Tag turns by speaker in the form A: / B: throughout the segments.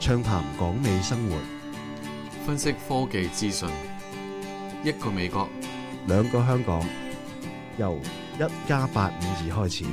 A: 暢談港美生活，
B: 分析科技資訊，一個美國，
A: 兩個香港，由1+852開始。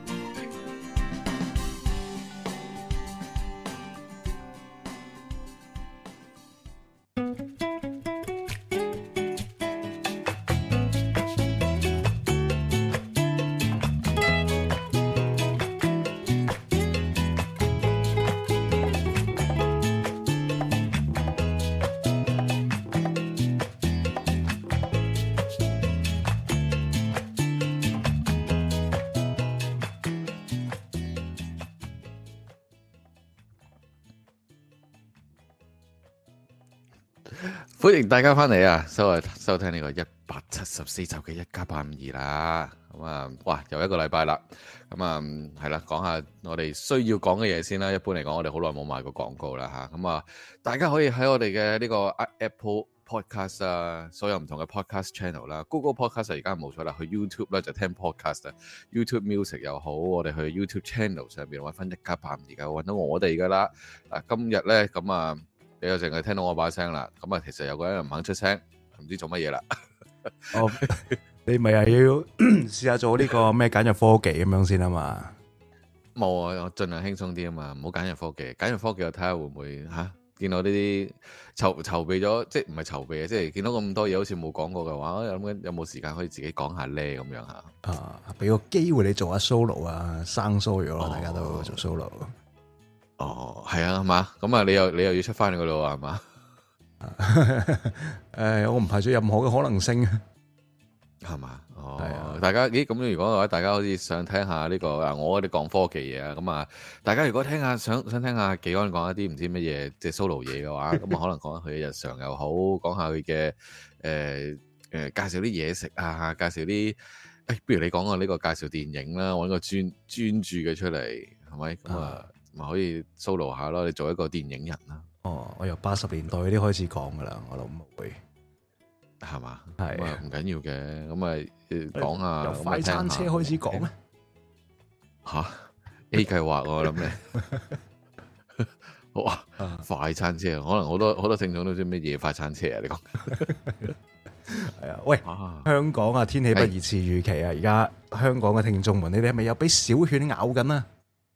C: 歡迎大家翻嚟啊！收聽呢個174集嘅1+852啦。咁啊，哇，又一個禮拜啦。咁啊，係啦，講下我哋需要講嘅嘢先啦。一般嚟講，我哋好耐冇賣過廣告啦吓。咁啊，大家可以喺我哋嘅呢個 Apple Podcast 啊，所有唔同嘅 Podcast Channel 啦，Google Podcast 而家冇錯啦，去 YouTube 咧就聽 Podcast 啊，YouTube Music 又好，我哋去 YouTube Channel 上邊揾翻1+852而家揾到我哋噶啦。今日咧咁啊。你又淨係聽到我把聲啦，咁啊，其實有個人唔肯出聲，唔知做乜嘢啦。
A: 哦，你咪係要試下做呢個咩簡約科技咁樣先啊嘛？
C: 冇啊，我盡量輕鬆啲啊嘛，唔好簡約科技。簡約科技我睇下會唔會嚇見到呢啲籌備咗，即係唔係籌備啊？即係見到咁多嘢好似冇講過嘅話，我諗緊有冇時間可以自己講下咧咁樣嚇。
A: 啊，俾個機會你做下 solo 啊，生疏咗啦，大家都做 solo。
C: 哦，係啊，係嘛？咁啊，你又要出翻去嗰度啊，係嘛？
A: 我唔排除任何嘅可能性，
C: 係嘛？哦，
A: 係啊，
C: 大家咦咁如果嘅話，大家好似想聽下呢個我哋講科技嘢啊，咁啊，大家如果想聽下紀安講一啲唔知乜嘢即係 solo 嘢嘅話，咁啊可能講下佢嘅日常又好，講下佢嘅介紹啲嘢食啊，介紹啲不如你講個呢個介紹電影啦，揾個專注嘅出嚟，係咪咁啊？咪可以 solo 下咯，你做一個電影人啦。哦，
A: 我由80年代嗰啲開始講噶啦，我諗會
C: 係嘛？
A: 係
C: 啊，唔緊要嘅，咁咪講下
A: 由快餐車開始講咧。
C: 吓 A 計劃我諗你好啊，快餐車可能好多聽眾都知咩嘢快餐車啊？你講
A: 係啊？喂，香港啊，天氣不如似預期啊！而家香港嘅聽眾們，你哋係咪有俾小犬咬緊啊？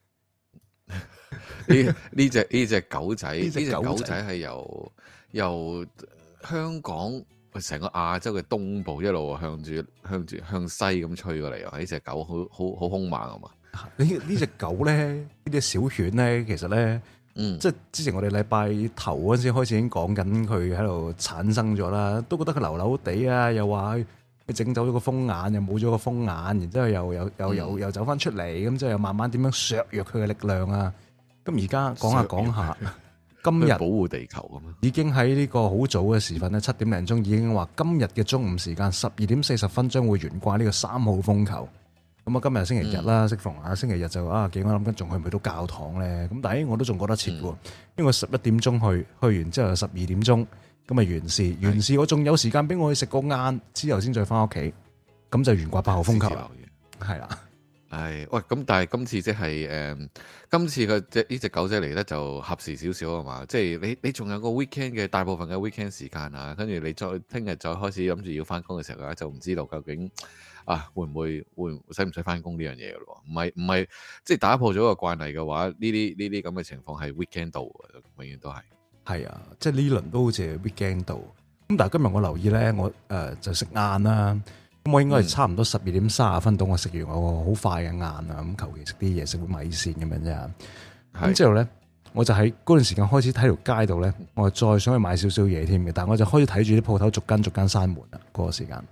C: 呢隻狗仔，呢隻狗仔係由香港成個亞洲嘅東部一路向西咁吹過嚟啊！呢隻狗好兇猛啊嘛！
A: 呢隻狗咧，呢隻小犬咧，其實咧，即係之前我哋禮拜頭嗰陣時開始已經講緊佢喺度產生咗啦，都覺得佢流流地啊，又話佢整走咗個風眼，又冇咗個風眼，然之後又走翻出嚟，咁之後又慢慢點樣削弱佢嘅力量啊！咁而家講下，今日
C: 保護地球咁啊，
A: 已經喺呢個好早嘅時分咧，7點零鐘已經話今日嘅中午時間12:40將會懸掛呢個3號風球。咁啊，今日星期日啦，適逢啊星期日就幾我諗緊仲去唔去到教堂咧？咁但係我都仲覺得切喎，因為11點鐘去完之後12點鐘咁啊完事，我仲有時間俾我去食個晏之後先再翻屋企，咁就懸掛8號風球啦，係啦。
C: 係，喂，咁但係今次即係今次嘅呢隻狗仔嚟得就合時少少啊嘛，即係你仲有個 weekend 嘅大部分嘅 weekend 時間啊，跟住你再聽日再開始諗住要翻工嘅時候咧，就唔知道究竟會使唔使翻工呢樣嘢嘅咯？唔係即係打破咗個慣例嘅話，呢啲咁嘅情況係 weekend 到嘅，永遠都係。係
A: 啊，即係呢輪都好似係 weekend 到。咁但係今日我留意咧，我就食晏啦。咁我應該係差唔多12:30到，我食完我好快嘅晏啊，咁求其食啲嘢，食碗米線咁樣啫。咁之後咧，我就喺嗰段時間開始睇條街度咧，我再想去買少少嘢添嘅，但係我就開始睇住啲鋪頭逐間閂門啦。嗰個時間，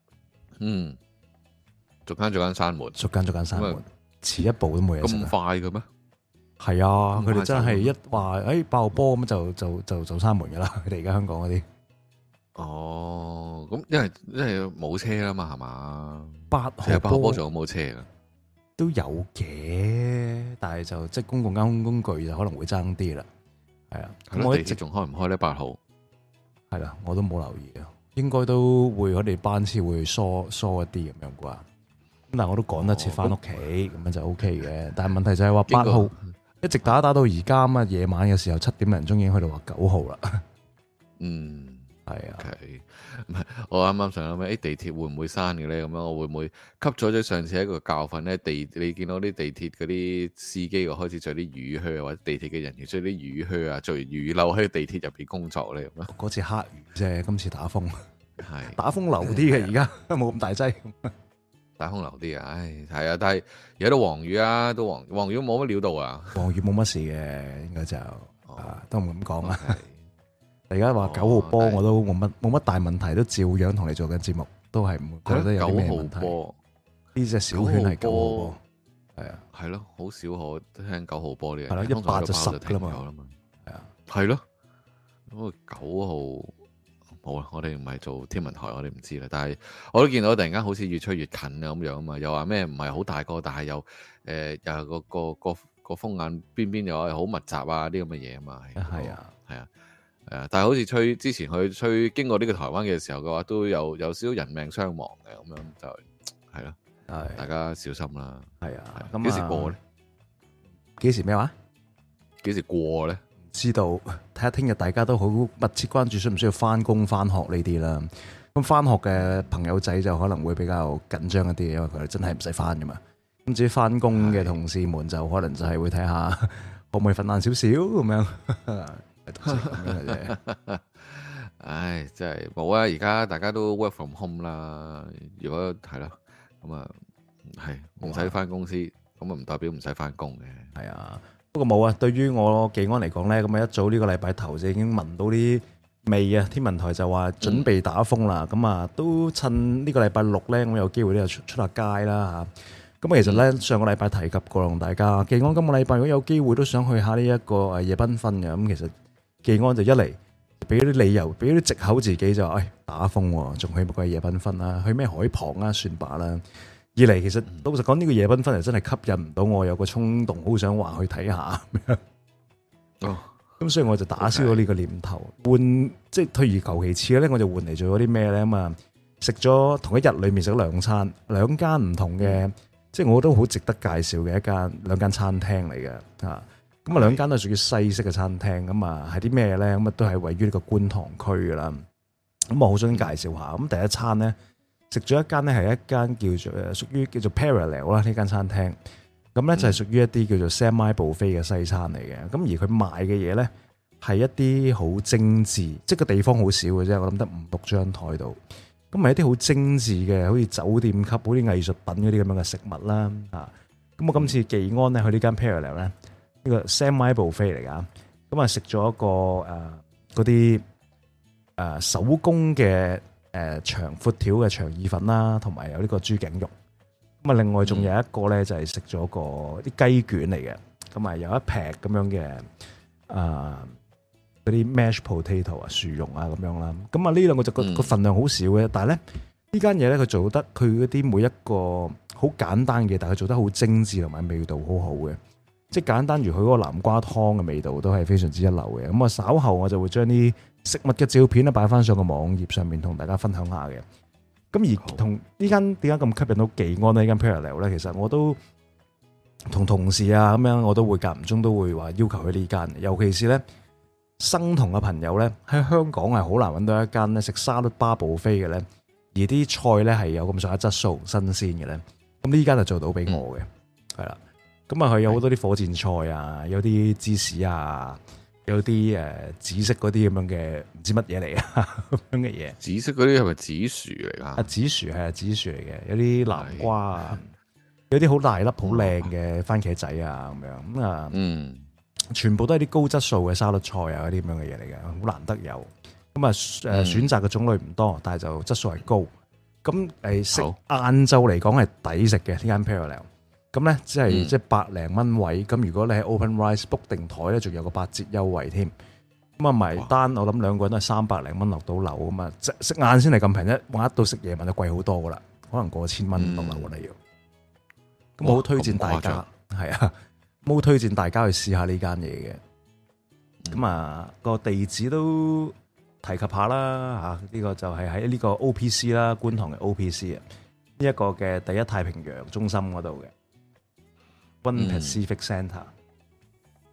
C: 逐間閂門，
A: 逐間閂門，遲一步都冇嘢食。
C: 咁快嘅咩？
A: 係啊，佢哋真係一話爆波咁就閂門噶啦。佢哋而家香港嗰啲。
C: 哦，咁因為冇車啦嘛，係嘛
A: ？8號
C: 波仲有冇車噶？
A: 都有嘅，但係就即係公共交通工具就可能會爭啲啦。係啊，
C: 咁我地鐵仲開唔開咧？8號
A: 係啦，我都冇留意啊。應該都會我哋班次會疏一啲咁樣啩。咁但係我都趕得切翻屋企，咁樣就 OK 嘅。但係問題就係話8號一直打到而家啊，夜晚嘅時候7點零鐘已經去到話9號啦。
C: 嗯，
A: 係啊。
C: 唔係，我啱啱想諗咩？地鐵會唔會閂嘅咧？咁樣我會唔會吸咗上次一個教訓咧？你見到啲地鐵嗰啲司機又開始着啲雨靴，或者地鐵嘅人員着啲雨靴啊，着雨褸喺地鐵入邊工作咧咁啊？
A: 嗰次黑雨啫，今次打風，
C: 係
A: 打風流啲嘅，而家冇咁大劑。
C: 打風流啲啊，唉，係啊，但係而家都黃雨啊，都黃雨冇乜料到啊，
A: 黃雨冇乜事嘅，應該就都唔敢講啦。
C: Okay.
A: 而家話9號波我都冇乜大問題，都照樣同你做緊節目，都係唔覺得有啲咩問題。9號波呢隻小圈係9號波，係啊，
C: 係咯，好少可聽9號波呢樣。
A: 係啦，100就10噶啦嘛，係啊，
C: 係咯。咁9號冇啦，我哋唔係做天文台，我哋唔知啦。但係我都見到突然間好似越吹越近啊咁樣啊嘛，又話咩唔係好大個，但係又又個風眼邊邊又係好密集啊啲咁嘅嘢啊嘛。係啊，係啊。但係好似之前去吹經過呢個台灣嘅時候嘅話，都有少少人命傷亡嘅咁樣，就係咯，大家小心啦。係啊，咁幾時過咧？
A: 幾時咩話？
C: 幾時過咧？
A: 唔知道，睇下聽日大家都好密切關注，需唔需要翻工翻學呢啲啦。咁翻學嘅朋友仔就可能會比較緊張一啲，因為佢哋真係唔使翻噶嘛。咁至於翻工嘅同事們就可能就係會睇下可唔可以瞓晏少少咁樣。
C: 唉，真係冇啊！而家大家都 work from home 啦。如果係咯，咁啊係唔使翻公司，咁啊唔代表唔使翻工嘅。係啊，
A: 不過冇啊。對於我技安嚟講咧，咁啊一早呢個禮拜頭就已經聞到啲味啊。天文台就話準備打風啦，咁啊都趁呢個禮拜6咧，我有機會咧出下街啦吓。咁其實咧上個禮拜提及過同大家，技安今個禮拜如果有機會都想去下呢一個夜繽紛嘅，咁其實。技安就一嚟俾啲理由，俾啲藉口自己就話，打風喎，仲去乜鬼夜繽紛啦？去咩海旁啊？算罷啦。二嚟其實老實講，呢個夜繽紛係真係吸引唔到我，有個衝動，好想話去睇下。咁所以我就打消咗呢個念頭，換即係退而求其次咧，我就換嚟做咗啲咩咧？咁啊，食咗同一日裏面食咗2餐，兩間唔同嘅，即係我都好值得介紹嘅兩間餐廳嚟嘅啊。咁啊，兩間都係屬於西式嘅餐廳，咁啊係啲咩咧？咁啊都係位於呢個觀塘區噶啦。咁我好想介紹下。咁第一餐咧，食咗一間咧係一間叫做屬於叫做 Parallel 啦呢間餐廳。咁咧就係屬於一啲叫做 semi buffet 嘅西餐嚟嘅。咁而佢賣嘅嘢咧係一啲好精緻，即係個地方好少嘅啫。我諗得5-6張台度。咁係一啲好精緻嘅，好似酒店級、好啲藝術品嗰啲咁樣嘅食物啦。啊，咁我今次技安咧去呢間 Parallel 咧。呢個 semi buffet 嚟噶，咁啊食咗一個嗰啲手工嘅長闊條嘅腸意粉啦，同埋有呢個豬頸肉。咁啊，另外仲有一個咧就係食咗個啲雞卷嚟嘅，咁啊有一劈咁樣嘅嗰啲 mashed potato 啊薯蓉啊咁樣啦。咁啊呢兩個就個份量好少嘅，但係咧呢間嘢咧佢做得佢嗰啲每一個好簡單嘅，但係佢做得好精緻同埋味道好好嘅。即係簡單如佢嗰個南瓜湯嘅味道都係非常之一流嘅。咁啊稍後我就會將啲食物嘅照片咧擺翻上個網頁上面同大家分享下嘅。咁而同呢間點解咁吸引到技安呢間 Parallel 咧？其實我都同同事啊咁樣，我都會間唔中都會話要求去呢間。尤其是咧生酮嘅朋友咧喺香港係好難揾到一間咧食沙律巴buffet嘅咧，而啲菜咧係有咁上下質素新鮮嘅咧。咁呢間就做到俾我嘅，係啦。咁啊，佢有好多啲火箭菜啊，有啲芝士啊，有啲紫色嗰啲咁樣嘅唔知乜嘢嚟啊咁樣嘅嘢。
C: 紫色嗰啲係咪紫薯嚟㗎？
A: 紫薯係紫薯嚟嘅，有啲南瓜啊，有啲好大粒、好靚嘅番茄仔啊咁樣。咁啊，全部都係啲高質素嘅沙律菜啊嗰啲咁樣嘅嘢嚟嘅，好難得有。咁啊選擇嘅種類唔多，但係就質素係高。咁食晏晝嚟講係抵食嘅呢間 Parallel。咁咧，即係百零蚊位。咁如果你喺 OpenRice book 定台咧，仲有個8折優惠添。咁啊埋單，我諗兩個人都係300零蚊落到樓啊嘛。食晏先嚟咁平啫，玩到食夜晚就貴好多噶啦，可能過1000蚊落樓㗎啦要。咁我好推薦大家，係啊，好推薦大家去試下呢間嘢嘅。咁啊個地址都提及下啦嚇，呢個就係喺呢個 OPC 啦，觀塘嘅 OPC 啊，呢一個嘅第一太平洋中心嗰度嘅。One Pacific Centre，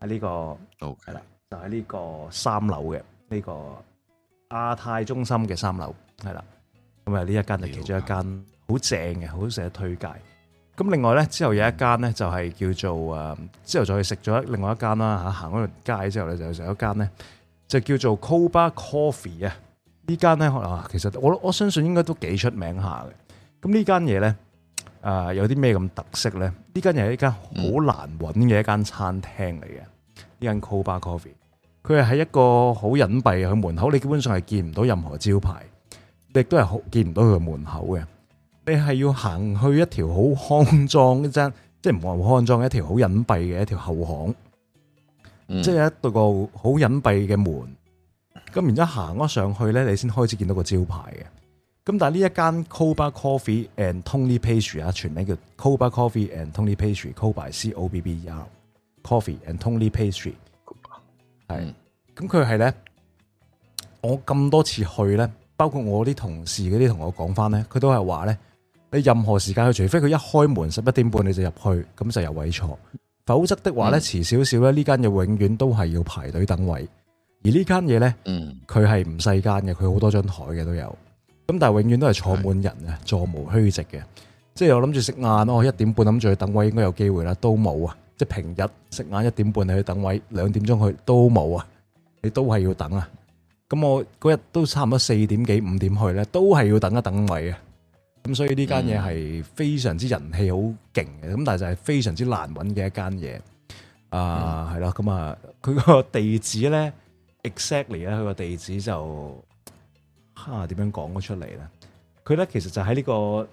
A: 喺呢個係啦，就喺呢個3樓嘅呢個亞太中心嘅3樓係啦。咁啊呢一間就其中一間好正嘅，好值得推介。咁另外咧之後有一間咧就係叫做之後再去食咗另外一間啦嚇，行嗰條街之後咧就食一間咧就叫做 Coba Coffee 啊。呢間咧其實我相信應該都幾出名下嘅。咁呢間嘢咧有啲咩咁特色咧？呢間又係一間好難揾嘅一間餐廳嚟嘅。呢間 Coba Coffee 佢係喺一個好隱蔽嘅門口，你基本上係見唔到任何招牌，亦都係見唔到佢嘅門口嘅。你係要行去一條好骯髒即係唔係好骯髒，一條好隱蔽嘅一條後巷，即係一個好隱蔽嘅門。咁然之後行咗上去咧，你先開始見到個招牌嘅。咁但係呢一間 Coba Coffee and Tony Pastry 全名叫 Coba Coffee and Tony Pastry，Coba C-O-B-B-E-R Coffee and Tony Pastry 係。咁佢係咧，我咁多次去咧，包括我啲同事嗰啲同我講翻咧，佢都係話咧。你任何時間去，除非佢一開門11點半你就入去，咁就有位坐。否則的話咧，遲少少咧，呢間嘢永遠都係要排隊等位。而呢間嘢咧，佢係唔細間嘅，佢好多張台嘅都有。咁但係永遠都係坐滿人嘅，座無虛席嘅。即係我諗住食晏，1點半諗住去等位，應該有機會啦，都冇啊！即係平日食晏1點半你去等位，2點鐘去都冇啊！你都係要等啊！咁我嗰日都差唔多4點幾5點去咧，都係要等一等位啊！咁所以呢間嘢係非常之人氣好勁嘅，咁但係就係非常之難揾嘅一間嘢。係啦，咁佢個地址咧 ，exactly 咧，佢個地址就點樣講咗出嚟咧？佢咧其實就喺呢個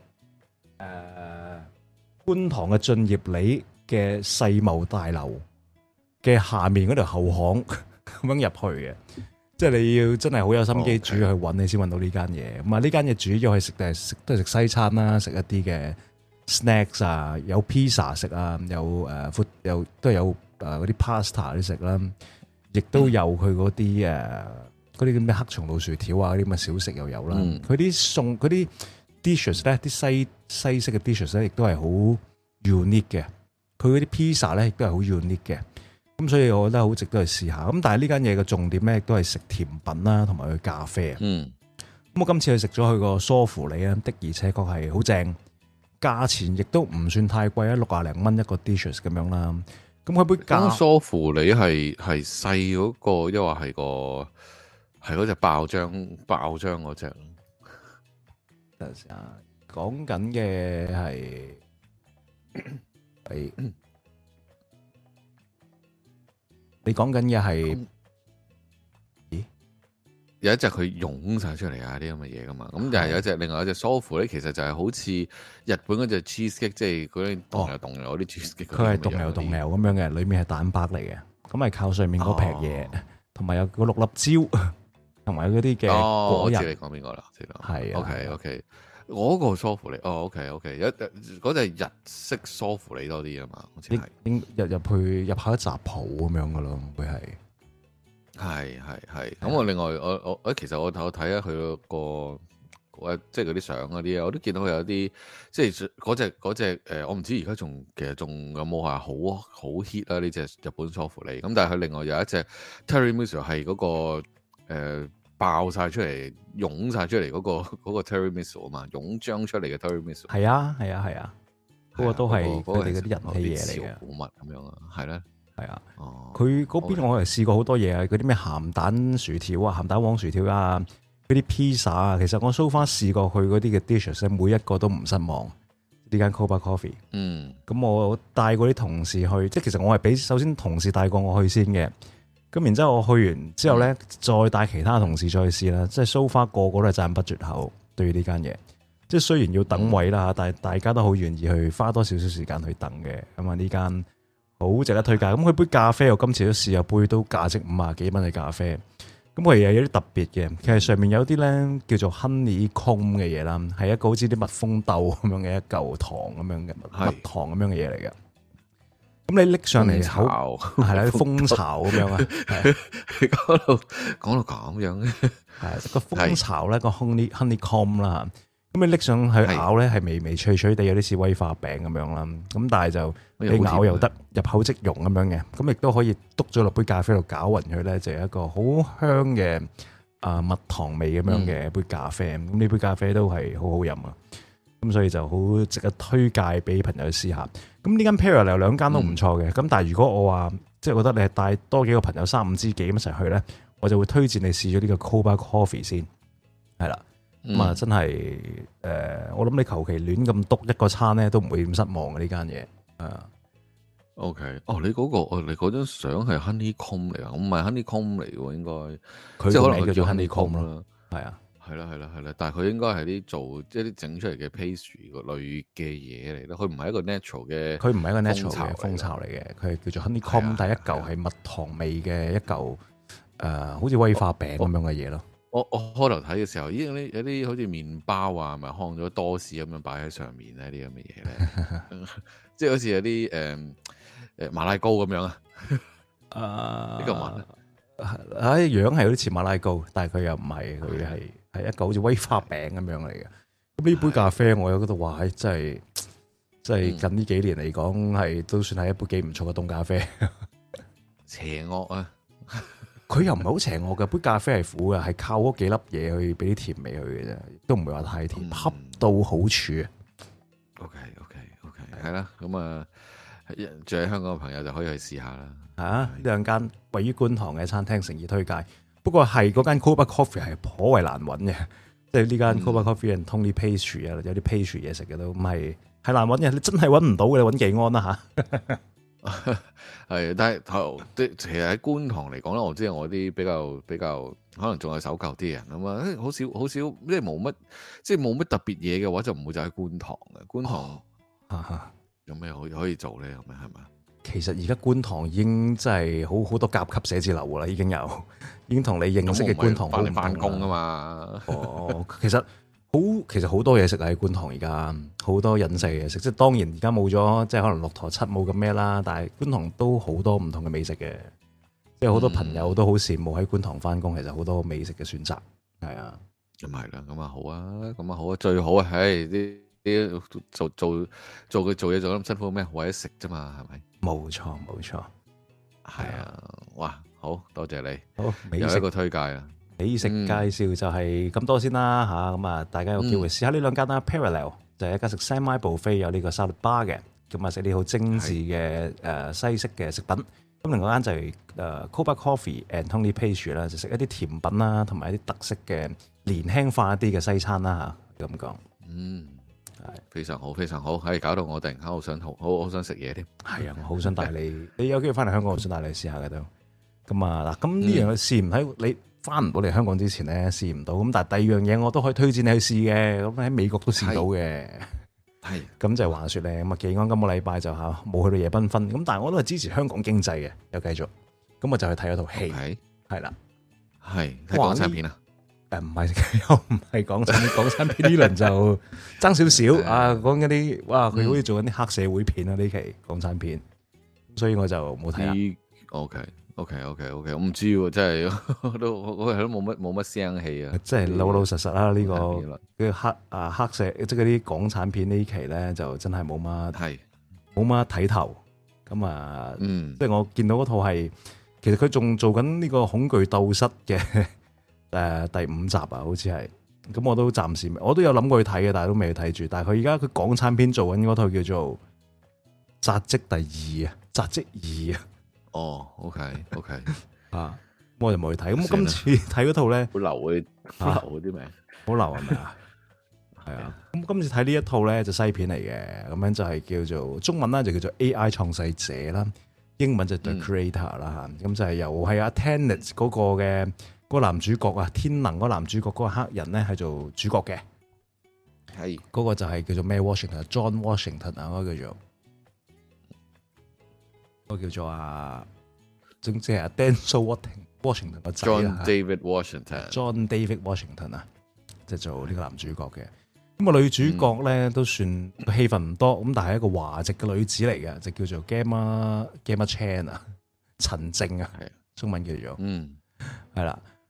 A: 觀塘嘅駿業里嘅世貿大樓嘅下面嗰條後巷咁樣入去嘅。即係你要真係好有心機煮去揾，你先揾到呢間嘢。咁啊，呢間嘢主要係食都係食西餐啦，食一啲嘅 snacks 啊，有 pizza 食啊，有都係有嗰啲 pasta 啲食啦，亦都有佢嗰啲咩黑松露薯條啊，嗰啲咁嘅小食又有啦。佢啲餸嗰啲 dishes 咧，啲西式嘅 dishes 咧，亦都係好 unique 嘅。佢嗰啲 pizza 咧，亦都係好 unique 嘅。咁所以我覺得好值得去試下。咁但係呢間嘢嘅重點咧，亦都係食甜品啦，同埋佢咖啡。咁我今次去食咗佢個梳芙梨啊，的而且確係好正，價錢亦都唔算太貴啊，60零蚊一個 dishes 咁樣啦。咁佢杯
C: 梳芙梨係細嗰個，抑或係嗰隻爆漿嗰隻？
A: 等陣先啊，講緊嘅係你講緊嘅係，咦？
C: 有一隻佢湧晒出嚟啊！啲咁嘅嘢噶嘛，咁就係有一隻，另外一隻梳芙咧，其實就係好似日本嗰隻 cheesecake，即係嗰啲凍又凍又嗰啲 cheesecake。佢係凍又凍又咁樣嘅，裏面係蛋白嚟嘅，咁係靠上面嗰撇嘢，同埋有嗰6粒椒，同埋嗰啲嘅果仁。我知你講邊個啦？知道。係啊。OK。嗰個梳芙梨，OK，嗰隻日式梳芙梨多啲啊嘛，好似係入下一雜鋪咁樣噶咯，會係。咁我另外我其實我睇下佢個即係嗰啲相嗰啲啊，我都見到佢有啲即係嗰隻我唔知而家其實仲有冇係好 hit 啦呢隻日本梳芙梨，咁但係佢另外有一隻 Tiramisu 係嗰個爆晒出嚟，湧晒出嚟嗰個 Tiramisu 啊嘛，湧漿出嚟嘅 Tiramisu。係啊，嗰個都係佢哋嗰啲人氣嘢嚟嘅，古物咁樣啊，係咧，係啊。佢嗰邊我係試過好多嘢啊，嗰啲咩鹹蛋薯條啊、鹹蛋黃薯條啊、嗰啲 pizza 啊，其實我 so far 試過佢嗰啲嘅 dishes 每一個都唔失望。呢間 Coba Coffee，咁我帶過啲同事去，即係其實我係首先同事帶過我去先嘅。咁然之後我去完之後咧，再帶其他同事再去試啦。即係 so far 個個都係讚不絕口，對於呢間嘢。即係雖然要等位啦，但係大家都好願意去花多少少時間去等嘅。咁啊呢間好值得推介。咁佢杯咖啡我今次都試有杯都價值50幾蚊嘅咖啡。咁佢又有啲特別嘅，其實上面有啲咧叫做 honeycomb 嘅嘢啦，係一個好似啲蜜蜂豆咁樣嘅一嚿糖咁樣嘅蜜糖咁樣嘅嘢嚟嘅。咁你拎上嚟口係啦，啲蜂巢咁樣啊，講到咁樣嘅，係個蜂巢咧個 honeycomb 啦。
A: 咁你拎上去咬咧，係微微脆脆地，有啲似威化餅咁樣啦。咁但係就你咬又得，入口即溶咁樣嘅。咁亦都可以篤咗落杯咖啡度攪勻佢咧，就係一個好香嘅蜜糖味咁樣嘅一杯咖啡。咁呢杯咖啡都係好好飲啊！咁所以就好值得推介俾朋友去試下。咁呢間 Parallel 兩間都唔錯嘅。咁但係如果我話即係覺得你係帶多幾個朋友3-5知己咁一齊去咧，我就會推薦你試咗呢個 Coba Coffee 先，係啦。咁啊，真係我諗你求其亂咁篤一個餐咧，都唔會咁失望嘅呢間嘢。
C: OK， 你嗰張相係 Honeycomb 嚟啊？我唔係 Honeycomb 嚟喎，應該
A: 佢個名叫做 Honeycomb 咯。係啊，
C: 係啦，但係佢應該係啲做即係啲整出嚟嘅 pastry 個類嘅嘢嚟咯。佢唔係一個 natural 嘅，佢唔係一個 natural 嘅蜂巢嚟嘅，佢係叫做 Honeycomb，但係一嚿係蜜糖味嘅一嚿好似威化餅咁樣嘅嘢咯。我開頭睇嘅時候，有啲好似麵包啊，咪烘咗多士咁樣擺喺上面咧，啲咁嘅嘢咧，即係好似有啲馬拉糕咁樣啊。呢個聞樣係有啲似馬拉糕，但係佢又唔係，佢係一個好似威化餅咁樣嚟嘅。咁呢杯咖啡我有嗰度話，真係近呢幾年嚟講係都算係一杯幾唔錯嘅凍咖啡。邪惡啊！佢又唔係好邪惡嘅，杯咖啡係苦嘅，係靠嗰幾粒嘢去俾啲甜味佢嘅啫，都唔會話太甜，恰到好處啊。OK， 係啦，咁啊，住喺香港嘅朋友就可以去試下啦。呢兩間位於觀塘嘅餐廳誠意推介。不過係嗰間 Coba Coffee 係頗為難揾嘅，即係呢間 Coba Coffee and Tony Pastry 啊，有啲 pastry 嘢食嘅都唔係難揾嘅，你真係揾唔到嘅，你揾幾安啦嚇。係，但係其實喺觀塘嚟講咧，我知我啲比較可能仲係守舊啲人啊嘛，好少即係冇乜特別嘢嘅話，就唔會就喺觀塘嘅。觀塘有咩可以做咧？有咩係咪？其實而家觀塘已經真係好多甲級寫字樓噶啦，已經同你認識嘅觀塘好唔同。翻工啊嘛。其實好多嘢食喺觀塘，而家好多隱世嘢食，即係當然而家冇咗，即係可能駱駝漆冇咁咩啦，但係觀塘都好多唔同嘅美食嘅，即係好多朋友都好羨慕喺觀塘翻工，其實好多美食嘅選擇，係啊，咁係啦，咁啊好啊，最好啊，啲做嘢做得咁辛苦咩？為咗食啫嘛，係咪？冇錯，係啊，哇，好多謝你，好，有一個推介啊。美食介紹就係咁多先啦嚇，咁啊大家有機會試下呢兩間啦。Parallel 就係一間食 Semi Buffet 有呢個 salad bar 嘅，咁啊食啲好精緻嘅西式嘅食品。咁另外一間就係Coba Coffee and Tony Pastry 啦，就食一啲甜品啦，同埋一啲特色嘅年輕化一啲嘅西餐啦嚇，咁講。係非常好，非常好，係搞到我突然間好想食嘢添。係啊，我好想帶你有機會翻嚟香港，我想帶你試下嘅都。咁啊嗱，咁呢樣嘢試唔喺你翻唔到嚟香港之前咧，試唔到，咁但係第二樣嘢我都可以推薦你去試嘅，咁喺美國都試到嘅。係，咁就係話說咧，咁啊技安今個禮拜就冇去到夜繽紛，咁但係我都係支持香港經濟嘅，又繼續，咁我就去睇咗套戲，係啦，係睇港產片啊，唔係又唔係港產片，港產片呢輪就爭少少啊，講嗰啲哇，佢好似做緊啲黑社會片啊呢期港產片，所以我就冇睇啦。OK， 我唔知喎，真係我都冇乜聲氣啊！即係老實實啦，呢個黑社即係嗰啲港產片呢期咧，就真係冇乜睇頭。咁啊，即係我見到嗰套係，其實佢仲做緊呢個恐懼鬥室嘅第5集啊，好似係。咁我都暫時我都有諗過去睇嘅，但係都未去睇住。但係佢而家佢港產片做緊嗰套叫做《紮職第2》啊，《紮職2》啊。哦 ，OK， 啊，我就冇去睇。咁今次睇嗰套咧，好流嗰啲名，好流係咪啊？係啊。咁今次睇呢一套咧就西片嚟嘅，咁樣就係叫做中文啦，就叫做 AI 創世者啦，英文就 The Creator 啦嚇。咁就係由係阿 Tenet 嗰個嘅嗰個男主角啊，天能嗰個男主角嗰個黑人咧係做主角嘅，係嗰個就係叫做咩 Washington，John Washington 啊，嗰個叫做。個叫做總之係 Denzel Washington 個仔 John David Washington 啊，即係做呢個男主角嘅。咁個女主角咧都算戲份唔多，咁但係一個華籍嘅女子嚟嘅，就叫做 Gemma Chan 啊，陳靜啊，中文叫做係啦。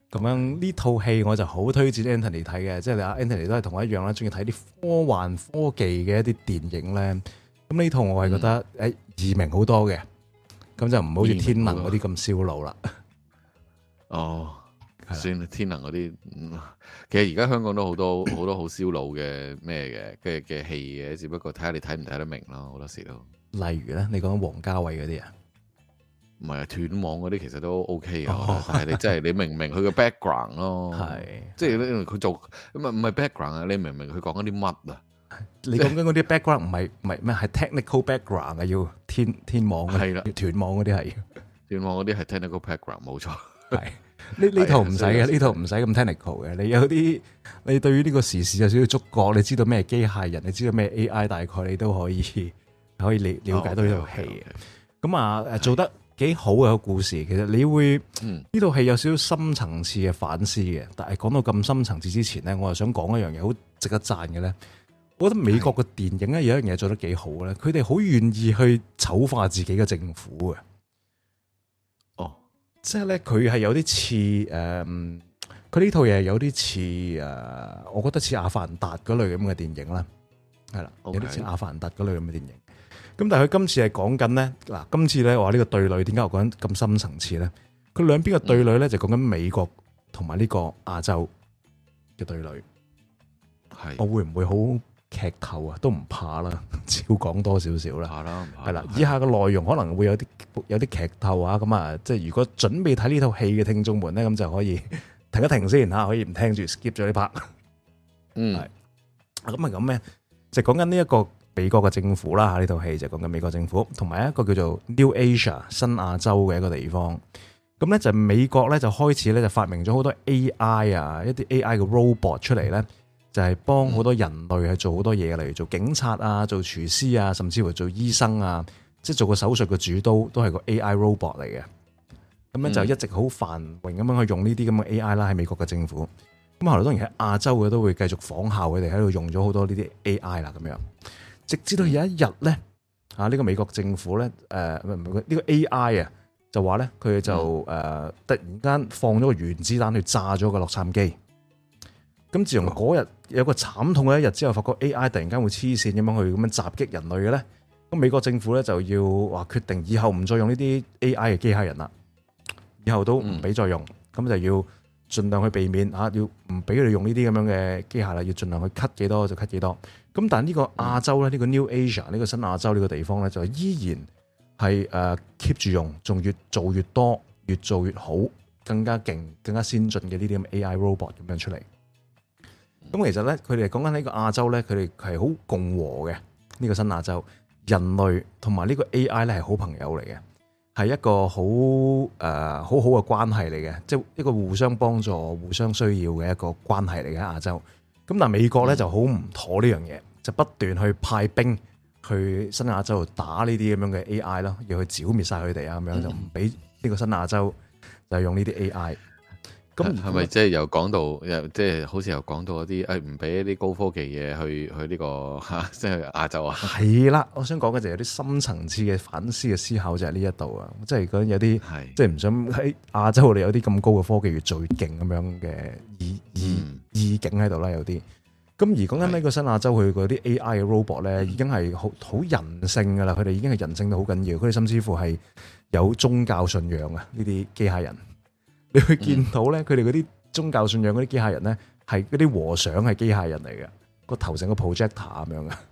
A: 咁樣呢套戲我就好推薦 Anthony 睇嘅，即係阿 Anthony 都係同我一樣啦，中意睇啲科幻科技嘅一啲電影咧。咁呢套我係覺得易明好多嘅，咁就唔好似天能嗰啲咁燒腦啦。
C: 哦，算啦，天能嗰啲，其實而家香港都好多好多好燒腦嘅咩嘅戲嘅，只不過睇下你睇唔睇得明咯，好多時都。
A: 例如咧，你講王家衛嗰啲啊？
C: 唔係啊，斷網嗰啲其實都 OK 嘅，但係你真係你明唔明佢嘅 background 咯？係，即係佢做唔係 background 啊？你明唔明佢講緊啲乜啊？
A: 你講緊嗰啲 background 唔係咩？係 technical background 啊，要天網
C: 係啦，
A: 斷網嗰啲係
C: 斷網嗰啲係 technical background 冇錯。
A: 係呢套唔使嘅，呢套唔使咁 technical 嘅。你有啲你對於呢個時事有少少觸覺，你知道咩機械人，你知道咩 AI，大概你都可以了解到呢套戲。咁啊，做得幾好嘅一個故事，其實你會呢套戲有少少深層次嘅反思嘅。但係講到咁深層次之前咧，我又想講一樣嘢好值得讚嘅咧。我覺得美國嘅電影咧有一樣嘢做得幾好咧，佢哋好願意去醜化自己嘅政府嘅。哦，即係咧佢係有啲似佢呢套嘢有啲似我覺得似《阿凡達》嗰類咁嘅電影啦，係啦，有啲似《阿凡達》嗰類咁嘅電影。咁但係佢今次係講緊咧，嗱，今次咧話呢個對壘點解我講咁深層次咧？佢兩邊嘅對壘咧就講緊美國同埋呢個亞洲嘅對壘。係，我會唔會好劇透啊？都唔怕啦，照講多少少啦。怕啦，係啦。以下嘅內容可能會有啲劇透啊。咁啊，即係如果準備睇呢套戲嘅聽眾們咧，咁就可以停一停先嚇，可以唔聽住 skip 咗呢 part。係。咁係咁咩？就講緊呢一個美國嘅政府啦，呢套戲就講緊美國政府同埋一個叫做 New Asia 新亞洲嘅一個地方。咁咧就美國咧就開始咧就發明咗好多 AI 啊，一啲 AI 嘅 robot 出嚟咧。就係幫好多人類去做好多嘢，例如做警察啊、做廚師啊，甚至乎做醫生啊，即係做個手術嘅主刀都係個 AI robot 嚟嘅。咁樣就一直好繁榮咁樣去用呢啲咁嘅 AI 啦，喺美國嘅政府。咁後來當然喺亞洲嘅都會繼續仿效佢哋喺度用咗好多呢啲 AI 啦，咁樣。直至到有一日咧，呢個美國政府咧，呢個 AI 啊，就話咧佢就突然間放咗個原子彈去炸咗個洛杉磯。咁自從嗰日有個慘痛嘅一日之後，發覺 AI 突然間會黐線咁樣去咁樣襲擊人類嘅咧，咁美國政府咧就要話決定以後唔再用呢啲 AI 嘅機械人啦，以後都唔俾再用，咁就要盡量去避免要唔俾佢哋用呢啲咁樣嘅機械啦，要盡量去 cut 幾多就 cut 幾多。咁但係呢個亞洲咧，呢個 New Asia 呢個新亞洲呢個地方咧，就依然係keep 住用，仲越做越多，越做越好，更加勁、更加先進嘅呢啲咁 AI robot 咁樣出嚟。咁其實咧，佢哋講緊呢個亞洲咧，佢哋係好共和嘅呢個新亞洲，人類同埋呢個 AI 咧係好朋友嚟嘅，係一個好好嘅關係嚟嘅，即係一個互相幫助、互相需要嘅一個關係嚟嘅亞洲。咁但係美國咧就好唔妥呢樣嘢，就不斷去派兵去新亞洲度打呢啲咁樣嘅 AI 咯，要去剿滅晒佢哋啊，咁樣就唔俾呢個新亞洲就用呢啲 AI。咁
C: 係咪即係又講到，即係好似又講到嗰啲唔俾一啲高科技嘢去呢個即係亞洲啊？係
A: 啦，我想講嘅就係有啲深層次嘅反思嘅思考就係呢一度啊，即係講有啲即係唔想喺亞洲我哋有啲咁高嘅科技越做越勁咁樣嘅意境喺度啦，有啲。咁而講緊呢個新亞洲佢嗰啲 AI 嘅 robot 咧，已經係好人性噶啦，佢哋已經係人性到好緊要，佢哋甚至乎係有宗教信仰啊，呢啲機械人。你會見到咧，佢哋嗰啲宗教信仰嗰啲機械人咧，係嗰啲和尚係機械人嚟嘅，個頭成個 projector 咁樣嘅。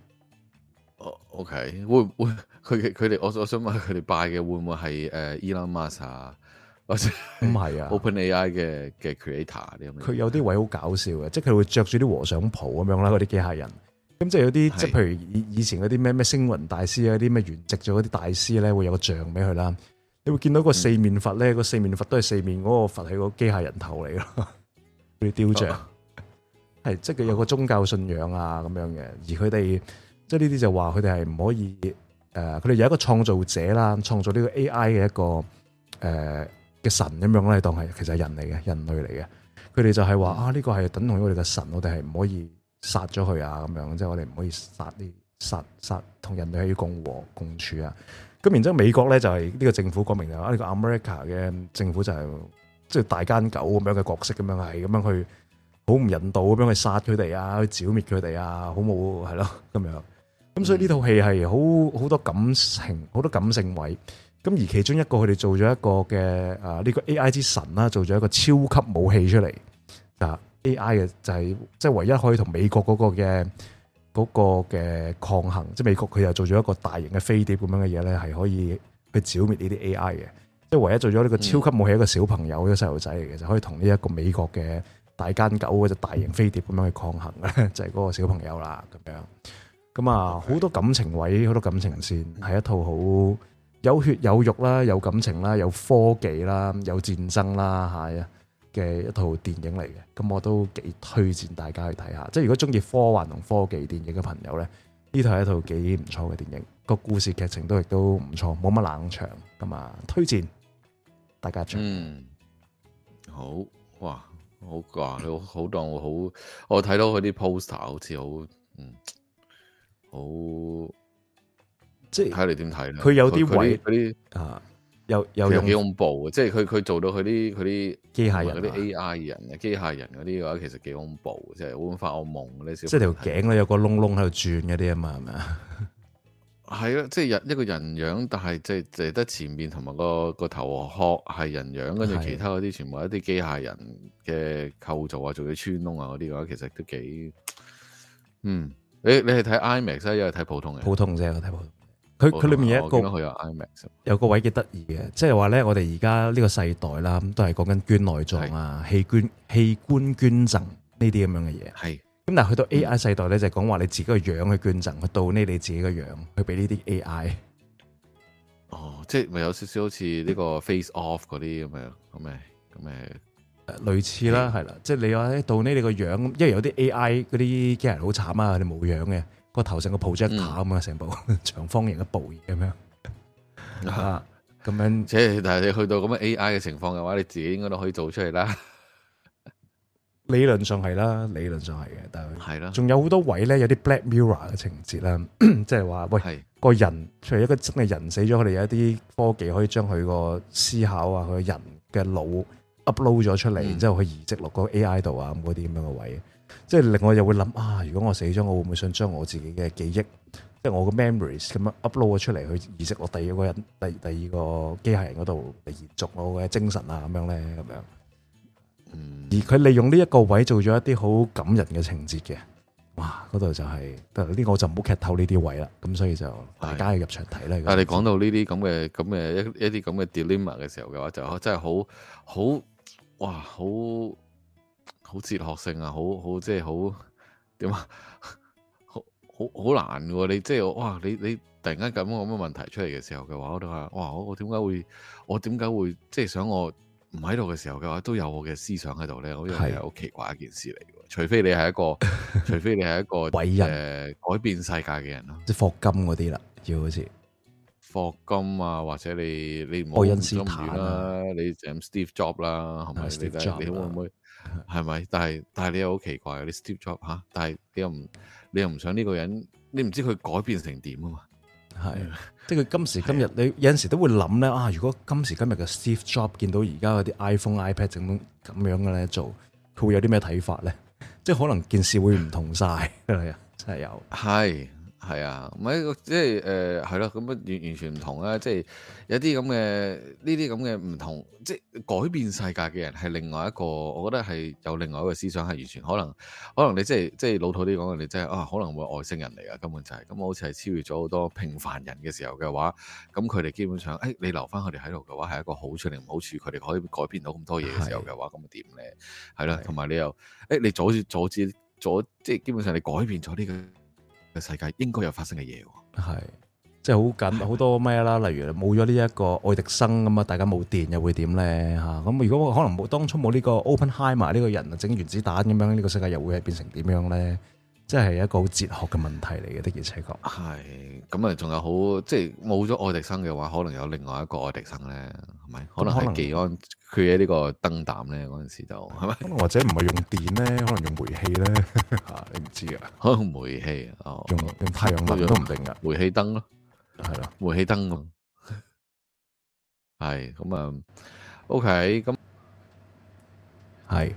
C: OK，會佢哋，我想問佢哋拜嘅會唔會係Elon Musk 啊，或者
A: 唔係啊
C: OpenAI 嘅 creator 啲咁？
A: 佢有啲位好搞笑嘅，即係佢會着住啲和尚袍咁樣啦，嗰啲機械人。咁即係有啲即係譬如以前嗰啲咩星雲大師啊，啲咩圓寂咗嗰啲大師咧，會有個像俾佢啦。你會見到個四面佛咧，個四面佛都係四面嗰個佛係個機械人頭嚟咯，嗰啲雕像係即係有個宗教信仰啊咁樣嘅。而佢哋即係呢啲就話佢哋係唔可以佢哋有一個創造者啦，創造呢個 AI 嘅一個嘅神咁樣咧，當係其實係人嚟嘅，人類嚟嘅。佢哋就係話呢個係等同於我哋嘅神，我哋係唔可以殺咗佢啊咁樣，即係我哋唔可以殺同人類係要共和共處啊。咁然之後美國咧就係呢個政府講明就話呢個 America 嘅政府就係即係大奸狗咁樣嘅角色咁樣，係咁樣去好唔人道咁樣去殺佢哋啊，去剿滅佢哋啊，好冇係咯咁樣。咁所以呢套戲係好多感情，好多感性位。咁而其中一個佢哋做咗一個嘅呢個 AI 之神啦，做咗一個超級武器出嚟。AI 嘅就係即係唯一可以同美國嗰個嘅抗衡，即係美國佢又做咗一個大型嘅飛碟咁樣嘅嘢咧，係可以去剿滅呢啲 AI 嘅。即係唯一做咗呢個超級武器一個小朋友，一個細路仔嚟嘅，就可以同呢一個美國嘅大奸狗嗰隻大型飛碟咁樣去抗衡嘅，就係嗰個小朋友啦咁樣。咁啊，好多感情位，好多感情線，係一套好有血有肉啦，有感情啦，有科技啦，有戰爭啦，係啊嘅一套電影嚟嘅。咁我都幾推薦大家去睇下。即係如果中意科幻同科技電影嘅朋友咧，呢套係一套幾唔錯嘅電影。個故事劇情都亦都唔錯，冇乜冷場咁啊，推薦大家場。
C: 好哇，好啩，你好當我睇到佢啲 poster 好似好即係睇你點睇咧？
A: 佢有啲位
C: 嗰啲
A: 又
C: 用幾恐怖嘅，即係佢做到佢啲
A: 機械人
C: 嗰啲 AI 人機械人嗰啲嘅話，其實幾恐怖，即係會發惡夢嗰啲小。
A: 即係條頸咧有個窿窿喺度轉嗰啲啊嘛，係咪啊？
C: 係啊，即係一個人樣，但係即係得前面同埋個頭殼係人樣，跟住其他嗰啲全部係一啲機械人嘅構造啊，做啲穿窿啊嗰啲嘅話，其實都幾你係睇 IMAX 啊，因為睇普通嘅？
A: 普通啫，我睇普通。佢裏面有一個
C: 佢有 IMAX，
A: 有個位幾得意嘅，即係話咧，我哋而家呢個世代啦，都係講緊捐內臟啊、器官捐贈呢啲咁樣嘅嘢。係。咁但係去到 AI 世代咧，就係講話你自己個樣去捐贈，去到呢你自己個樣去俾呢啲 AI。
C: 即係咪有少少好似呢個 Face Off 嗰啲咁嘅
A: 類似啦，係啦，即係你話到呢你個樣，因為有啲 AI 嗰啲機人好慘啊，佢哋冇樣嘅，個頭成個 projector 咁啊，成部長方形嘅部咁樣咁樣。
C: 即係但係你去到咁嘅 AI 嘅情況嘅話，你自己應該都可以做出嚟啦。
A: 理論上係啦，理論上係嘅，但係
C: 係啦，
A: 仲有好多位咧，有啲 Black Mirror 嘅情節啦，即係話喂個人，除咗一個真係人死咗，佢哋有一啲科技可以將佢個思考啊，佢人嘅腦 upload 咗出嚟，然之後佢移植落個 AI 度啊，咁嗰啲咁樣嘅位，即係令我又會諗啊，如果我死咗，我會唔會想將我自己嘅記憶，即係我個 memories 咁樣 upload 咗出嚟，去移植落第二個人、第二個機械人嗰度嚟延續我嘅精神啊，咁樣咧，咁樣。而佢利用呢一個位做咗一啲好感人嘅情節嘅，哇！嗰度就係呢個我就唔好劇透呢啲位啦，咁所以就大家要入場睇啦。
C: 但係你講到呢啲咁嘅一啲咁嘅 dilemma 嘅時候嘅話，就真係好哲學性啊，好即係好點啊，好難嘅喎！你即係哇，你突然間咁嘅問題出嚟嘅時候嘅話，我都話哇，我點解會即係想我唔喺度嘅時候嘅話，都有我嘅思想喺度咧，我覺得係好奇怪一件事嚟嘅。除非你係一個偉人，改變世界嘅人咯，
A: 即係霍金嗰啲啦，要好似
C: 霍金啊，或者你唔好咁遠啦，你就 Steve Jobs 啦，係咪？你會唔會係咪？但係你又好奇怪，你 Steve Jobs 嚇，但係你又唔想呢個人，你唔知佢改變成點啊嘛？
A: 係，即係佢今時今日，你有陣時都會諗咧啊！如果今時今日嘅 Steve Jobs 見到而家嗰啲 iPhone、iPad 整咁樣嘅咧做，佢會有啲咩睇法咧？即係可能件事會唔同晒，係啊，真係有。
C: 係啊，唔係即係係咯，咁完全唔同啦。即係有啲咁嘅呢啲咁嘅唔同，即係改變世界嘅人係另外一個，我覺得係有另外一個思想係完全可能你即係老土啲講，你真係可能會外星人嚟㗎，根本就係咁，好似係超越咗好多平凡人嘅時候嘅話，咁佢哋基本上你留翻佢哋喺度嘅話係一個好處定唔好處，佢哋可以改變到咁多嘢嘅時候嘅話，咁點咧？係啦，同埋你又你阻止即係基本上你改變咗呢個嘅世界應該有發生嘅嘢喎，
A: 係即係好多咩啦，例如冇咗呢一個愛迪生咁啊，大家冇電又會點咧嚇？咁如果可能當初冇呢個 Oppenheimer 呢個人啊，整原子彈咁樣，呢個世界又會係變成點樣咧？即係一個好哲學嘅問題嚟嘅，的而且確
C: 係咁啊！仲有好即係冇咗愛迪生嘅話，可能有另外一個愛迪生咧，係咪？可能係技安佢喺呢個燈膽咧嗰陣時就係咪？
A: 可能或者唔係用電咧，可能用煤氣咧嚇，你唔知啊？
C: 可能煤氣
A: 用太陽能都唔定噶，
C: 煤氣燈咯，
A: 係咯，
C: 煤氣燈咯，係咁啊。OK，咁
A: 係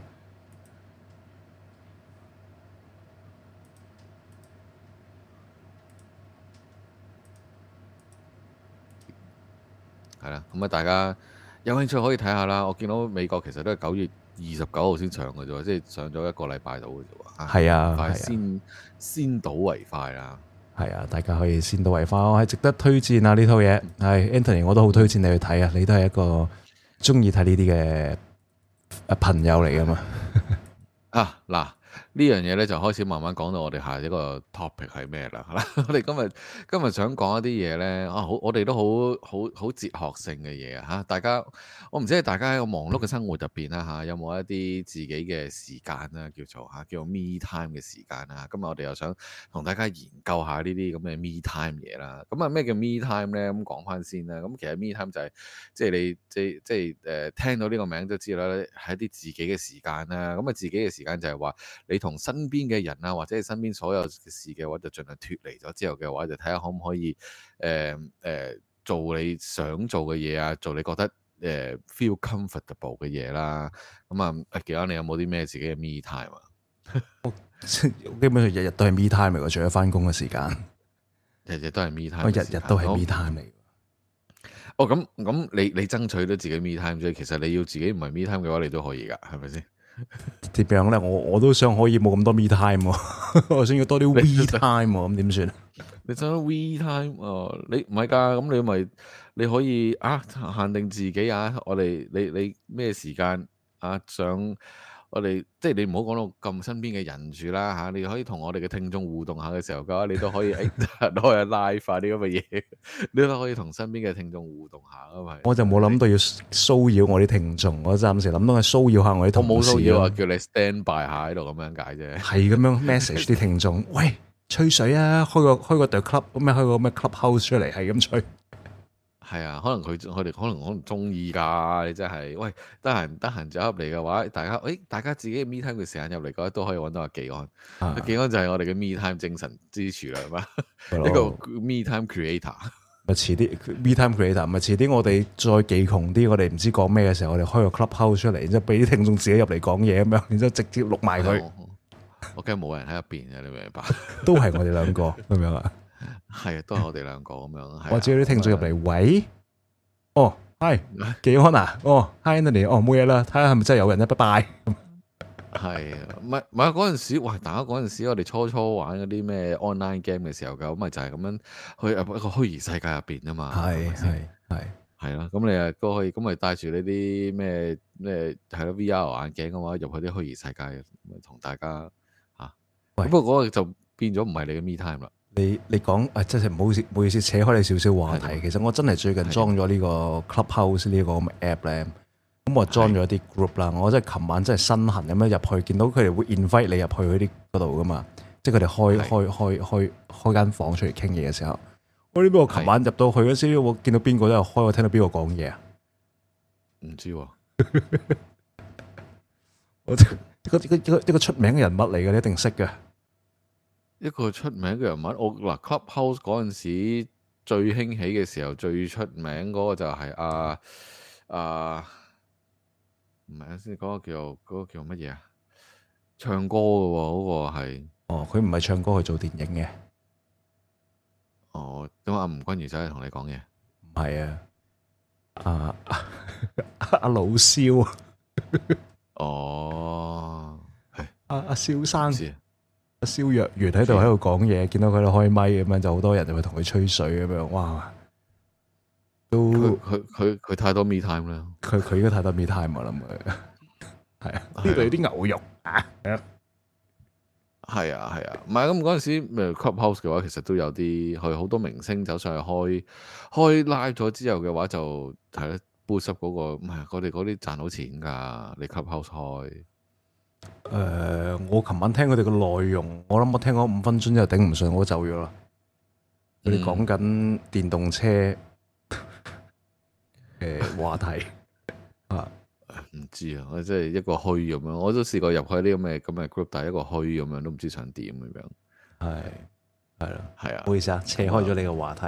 C: 係啦，咁啊大家有興趣可以睇下啦。我見到美國其實都係9月29號先上嘅啫，即係上咗一個禮拜到嘅啫喎。
A: 係啊，
C: 快
A: 係
C: 先睹為快啦。
A: 係啊，大家可以先睹為快，我係值得推薦啊！呢套嘢係 Anthony，我都好推薦你去睇啊！你都係一個中意睇呢啲嘅朋友嚟噶嘛？
C: 啊嗱，呢樣嘢咧就開始慢慢講到我哋下一個 topic 係咩啦？我哋今日想講一啲嘢咧啊，我哋都好哲學性嘅嘢啊嚇！大家我唔知係大家喺個忙碌嘅生活入邊啦嚇，有冇一啲自己嘅時間啦，叫做 me time 嘅時間啊？今日我哋又想同大家研究下呢啲咁嘅 me time 嘢啦。咁啊咩叫 me time 咧？咁講翻先啦。咁其實 me time 就係即係你即係聽到呢個名都知啦，係一啲自己嘅時間啦。咁啊自己嘅時間就係話你同身邊嘅人啊，或者係身邊所有嘅事嘅話，就盡量脫離咗之後嘅話，就睇下可唔可以做你想做嘅嘢啊，做你覺得feel comfortable 嘅嘢啦。咁啊，記得你有冇啲咩自己嘅 me time 啊？
A: 基本上日日都係 me time 嚟㗎，除咗翻工嘅時間，
C: 日日都係 me time。
A: 我日日都係 me time 嚟。
C: 哦，咁你爭取到自己 me time 啫。其實你要自己唔係 me time 嘅話，你都可以㗎，係咪先？
A: 點樣咧？我都想可以冇咁多 me time 喎，我想要多啲 we time 喎，咁點算？
C: 你想 we time 你唔係㗎，咁你可以限定自己啊！你咩時間想我哋即係你唔好講到咁身邊嘅人住啦嚇，你可以同我哋嘅聽眾互動下嘅時候嘅話，你都可以攞嚟拉快啲咁嘅嘢，你都可以同身邊嘅聽眾互動下啊嘛。
A: 我就冇諗到要騷擾我啲聽眾，我暫時諗到係騷擾下我啲同事。
C: 我冇騷擾啊，叫你 stand by 下喺度咁樣解啫。係
A: 咁樣 message 啲聽眾，喂，吹水啊，開個 The Club 咩，開個咩 Clubhouse 出嚟，係咁吹。
C: 係啊，可能佢哋可能中意㗎，你真係喂，得閒走入嚟嘅話，大家自己嘅 me time 嘅時間入嚟嘅話，都可以揾到阿技安。阿技安就係我哋嘅 me time 精神支柱啦，係嘛？一個 me time creator。
A: 咪遲啲 me time creator，咪遲啲我哋再技窮啲，我哋唔知講咩嘅時候，我哋開個 Clubhouse 出嚟，然之後俾啲聽眾自己入嚟講嘢咁樣，然之後直接錄埋佢。
C: 我驚冇人喺入邊嘅，你明唔明白？
A: 都係我哋兩個咁樣啊。
C: 係啊，都係我哋兩個咁樣。
A: 或者有啲聽眾入嚟，喂，哦，hi，技安啊，哦 ，hi Anthony，哦，冇嘢啦，睇下係咪真係有人咧，拜拜。
C: 係啊，唔係嗰陣時，哇！大家嗰陣時，我哋初玩嗰啲咩 online game 嘅時候，咁咪就係咁樣去一個虛擬世界入邊啊嘛。係啦，咁你啊都可以，咁咪帶住呢啲咩係咯 VR 眼鏡嘅話，入去啲虛擬世界，同大家嚇。不過嗰個就變咗唔係你嘅 me time 啦。你
A: 講真係唔好意思，扯開你少少話題。其實我真係最近裝咗呢個 Clubhouse 呢個咁嘅 app 咧，咁我裝咗啲 group 啦。我真係琴晚真係身痕咁樣入去，見到佢哋會 invite 你入去嗰度噶嘛，即係佢哋開間房出嚟傾嘢嘅時候。我呢邊我琴晚入到去嗰時，我見到邊個都有開，我聽到邊個講嘢啊？
C: 唔知喎，
A: 一個出名嘅人物嚟嘅，你一定識嘅。
C: 一個出名嘅人物，我嗱 Clubhouse 嗰陣時最興起嘅時候，最出名嗰個就係唔係先嗰個叫乜嘢啊？唱歌嘅喎，嗰個係
A: 佢唔係唱歌，去做電影嘅。
C: 咁阿吳君如走嚟同你講嘢，
A: 唔係啊，阿老蕭
C: 係
A: 阿蕭生，阿蕭若元喺度講嘢，見到佢喺度開咪咁樣，就好多人就會同佢吹水咁樣，哇！都
C: 佢太多 me time 啦，
A: 佢應該太多 me time 我諗佢係啊，呢度有啲牛肉啊！
C: 係啊，唔係咁嗰陣時 Clubhouse 嘅話，其實都有啲佢好多明星走上去開 live 咗之後嘅話，就係咧 boost up 嗰個，唔係我哋嗰啲賺到錢㗎，你 Clubhouse 開。
A: 我琴晚聽佢哋嘅內容，我諗我聽咗5分鐘之後頂唔順，我走咗啦。佢哋講緊電動車嘅話題啊。
C: 唔知啊，我即係一個虛咁樣，我都試過入去啲咁嘅 group，但係一個虛咁樣，都唔知想點咁樣。係啦，
A: 唔好意思啊，扯開咗你個話題，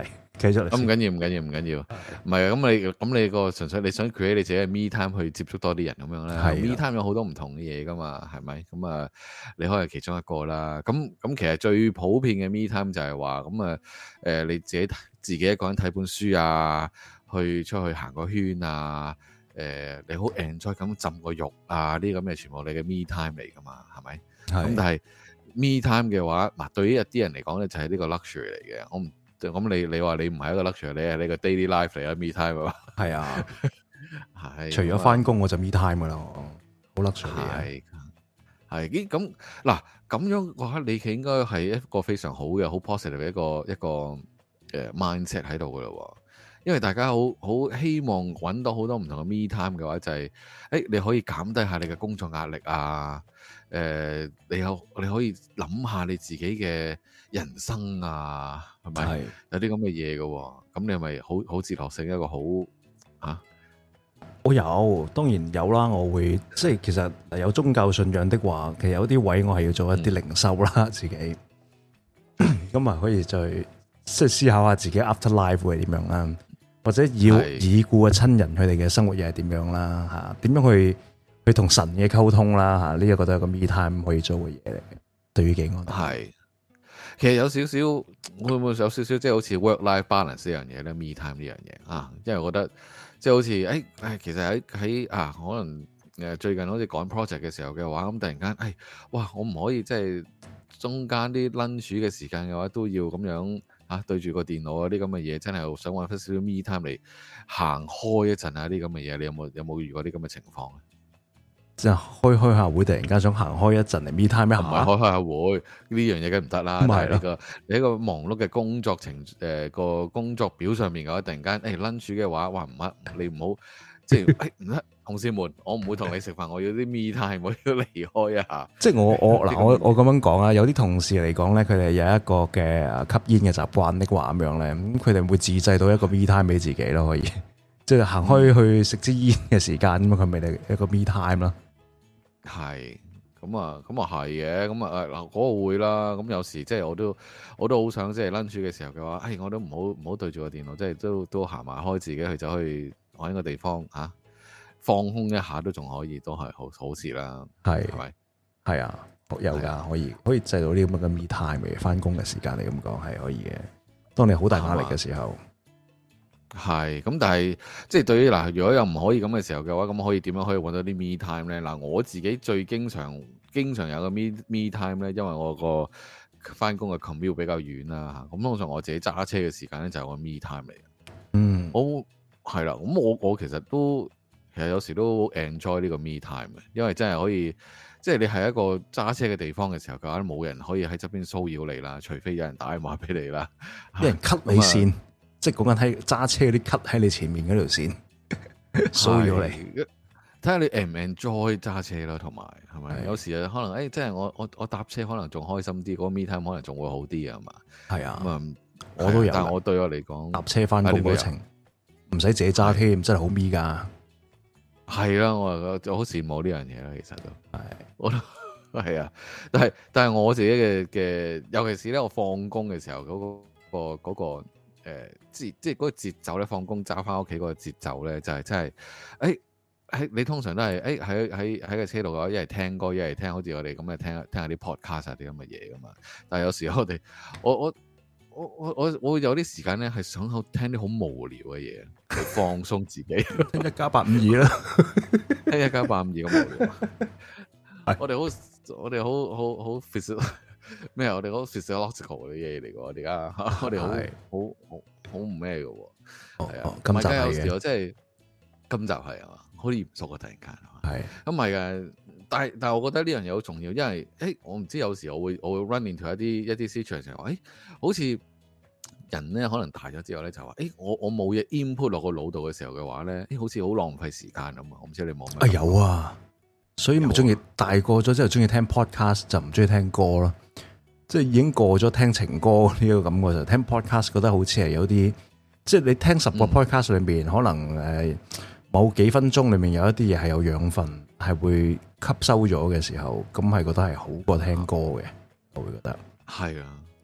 A: 繼續嚟。
C: 咁唔緊要，唔係咁你個純粹你想 create 你自己嘅 me time 去接觸多啲人咁樣咧。me time 有好多唔同嘅嘢噶嘛，係咪？咁啊，你可以係其中一個啦。咁其實最普遍嘅 me time 就係話咁啊，你自己一個人睇本書啊，去出去行個圈啊，你好 enjoy 咁浸個浴啊，呢啲咁嘅全部你嘅 me time 嚟噶嘛，係咪？咁但係 me time 嘅話，嗱對於一啲人嚟講咧，就係呢個 luxury 嚟嘅。我唔咁你話你唔係一個 luxury，你係呢個 daily life 嚟啊 me time 啊。係啊，係。除咗翻工我就 me time 噶啦，好 luxury 係咁嗱，咁樣嘅話，你應該係一個非常好嘅、好 positive 嘅一個mindset 喺度噶咯。因為大家好希望揾到好多唔同嘅 me time 嘅話，就係你可以減低下你嘅工作壓力啊。你可以諗下你自己嘅人生啊，係咪？有啲咁嘅嘢嘅，咁你係咪好哲學性一個好啊？我有，當然有啦。我會即係其實有宗教信仰的話，其實有啲位我係要做一啲靈修啦，自己咁啊可以再即係思考下自己 after life 會係點樣啦，或者要已故嘅親人佢哋嘅生活又係點樣啦，嚇點樣去同神嘅溝通啦，嚇呢一個都係個 me time 可以做嘅嘢嚟嘅。對於幾個係，其實有少少會唔會有少少即係好似 work life balance 呢樣嘢咧 ？me time 呢樣嘢啊，因為我覺得即係好似其實喺可能最近好似趕 project 嘅時候嘅話，咁突然間哇，我唔可以即係中間啲 lunch 嘅時間嘅話都要咁樣對住個電腦啲咁嘅嘢，真係想揾翻少少 me time 嚟行開一陣啲咁嘅嘢。你有冇遇過啲咁嘅情況咧？即係開下會，突然間想行開一陣嚟 me time 咩？唔係開下會呢樣嘢梗唔得啦。但係你一個忙碌嘅工作個工作表上面嘅話，突然間lunch 嘅話，哇唔得，你唔好即係唔得，同事們，我唔會同你食飯，我要啲 me time，我要離開一下。即係我咁樣講啊，有啲同事嚟講咧，佢哋有一個嘅吸煙嘅習慣的話咁樣咧，咁佢哋會自製到一個 me time 俾自己咯，可以即係行開去食支煙嘅時間咁佢咪係一個 me time 咯。係，咁啊係嘅，咁啊嗱嗰個會啦，咁有時即係我都好想即係 lunch 嘅時候嘅話，我都唔好對住個電腦，即係都行埋開自己去走去揾個地方放空一下都仲可以，都係好事啦。係咪？係啊，有㗎，可以製造啲咁嘅 me time 嘅翻工嘅時間嚟咁講係可以嘅。當你好大壓力嘅時候。係，咁但係即係對於嗱，如果又唔可以咁嘅時候嘅話，咁可以點樣可以揾到啲 me time 咧？嗱，我自己最經常有個 me time 咧，因為我個翻工嘅 commute 比較遠啦嚇，咁通常我自己揸車嘅時間咧就係我 me time 嚟嘅。我係啦，咁我其實有時都 enjoy 呢個 me time 嘅，因為真係可以，即係你係一個揸車嘅地方嘅時候嘅話，冇人可以喺側邊騷擾你啦，除非有人打電話俾你啦，有人 cut 你線。即係講緊喺揸車嗰啲 cut 喺你前面嗰條線，騷擾你。睇下你 enjoy 揸車咯，同埋係咪？有時啊，可能即係我搭車可能仲開心啲，嗰個 me time 可能仲會好啲啊嘛。係啊，咁我都有。但係我對我嚟講，搭車翻工嗰程唔使自己揸添，真係好 me 噶。係啦，我好羨慕呢樣嘢啦，其實都係，我都係啊。但係我自己嘅，尤其是咧，我放工嘅時候嗰個。即係嗰個節奏咧，放工揸翻屋企嗰個節奏咧，就係真係，你通常都係喺個車度嘅話，一係聽歌，一係聽好似我哋咁嘅聽下啲 podcast 啊啲咁嘅嘢噶嘛。但係有時候我會有啲時間咧，係想聽啲好無聊嘅嘢嚟放鬆自己，聽1+852啦，聽1+852咁無聊。我哋好 physical 咩？我哋好 physiological 嘅嘢嚟㗎，而家我哋好唔咩嘅喎，係啊。今集有時我真係今集係啊嘛，好嚴肅啊！突然間係咁唔係嘅，但係我覺得呢樣嘢好重要，因為我唔知有時我會 run into 一啲 situation 話好似人咧可能大咗之後咧就話我冇嘢 input 落個腦度嘅時候嘅話咧，好似好浪費時間咁啊！我唔知你冇咩有啊。所以咪中意大個咗之後中意聽 podcast 就唔中意聽歌咯，即係已經過咗聽情歌呢個感覺，就聽 podcast 覺得好似係有啲，即係你聽10個 podcast 裏面，可能某幾分鐘裏面有一啲嘢係有養分，係會吸收咗嘅時候，咁係覺得係好過聽歌嘅，我會覺得係啊，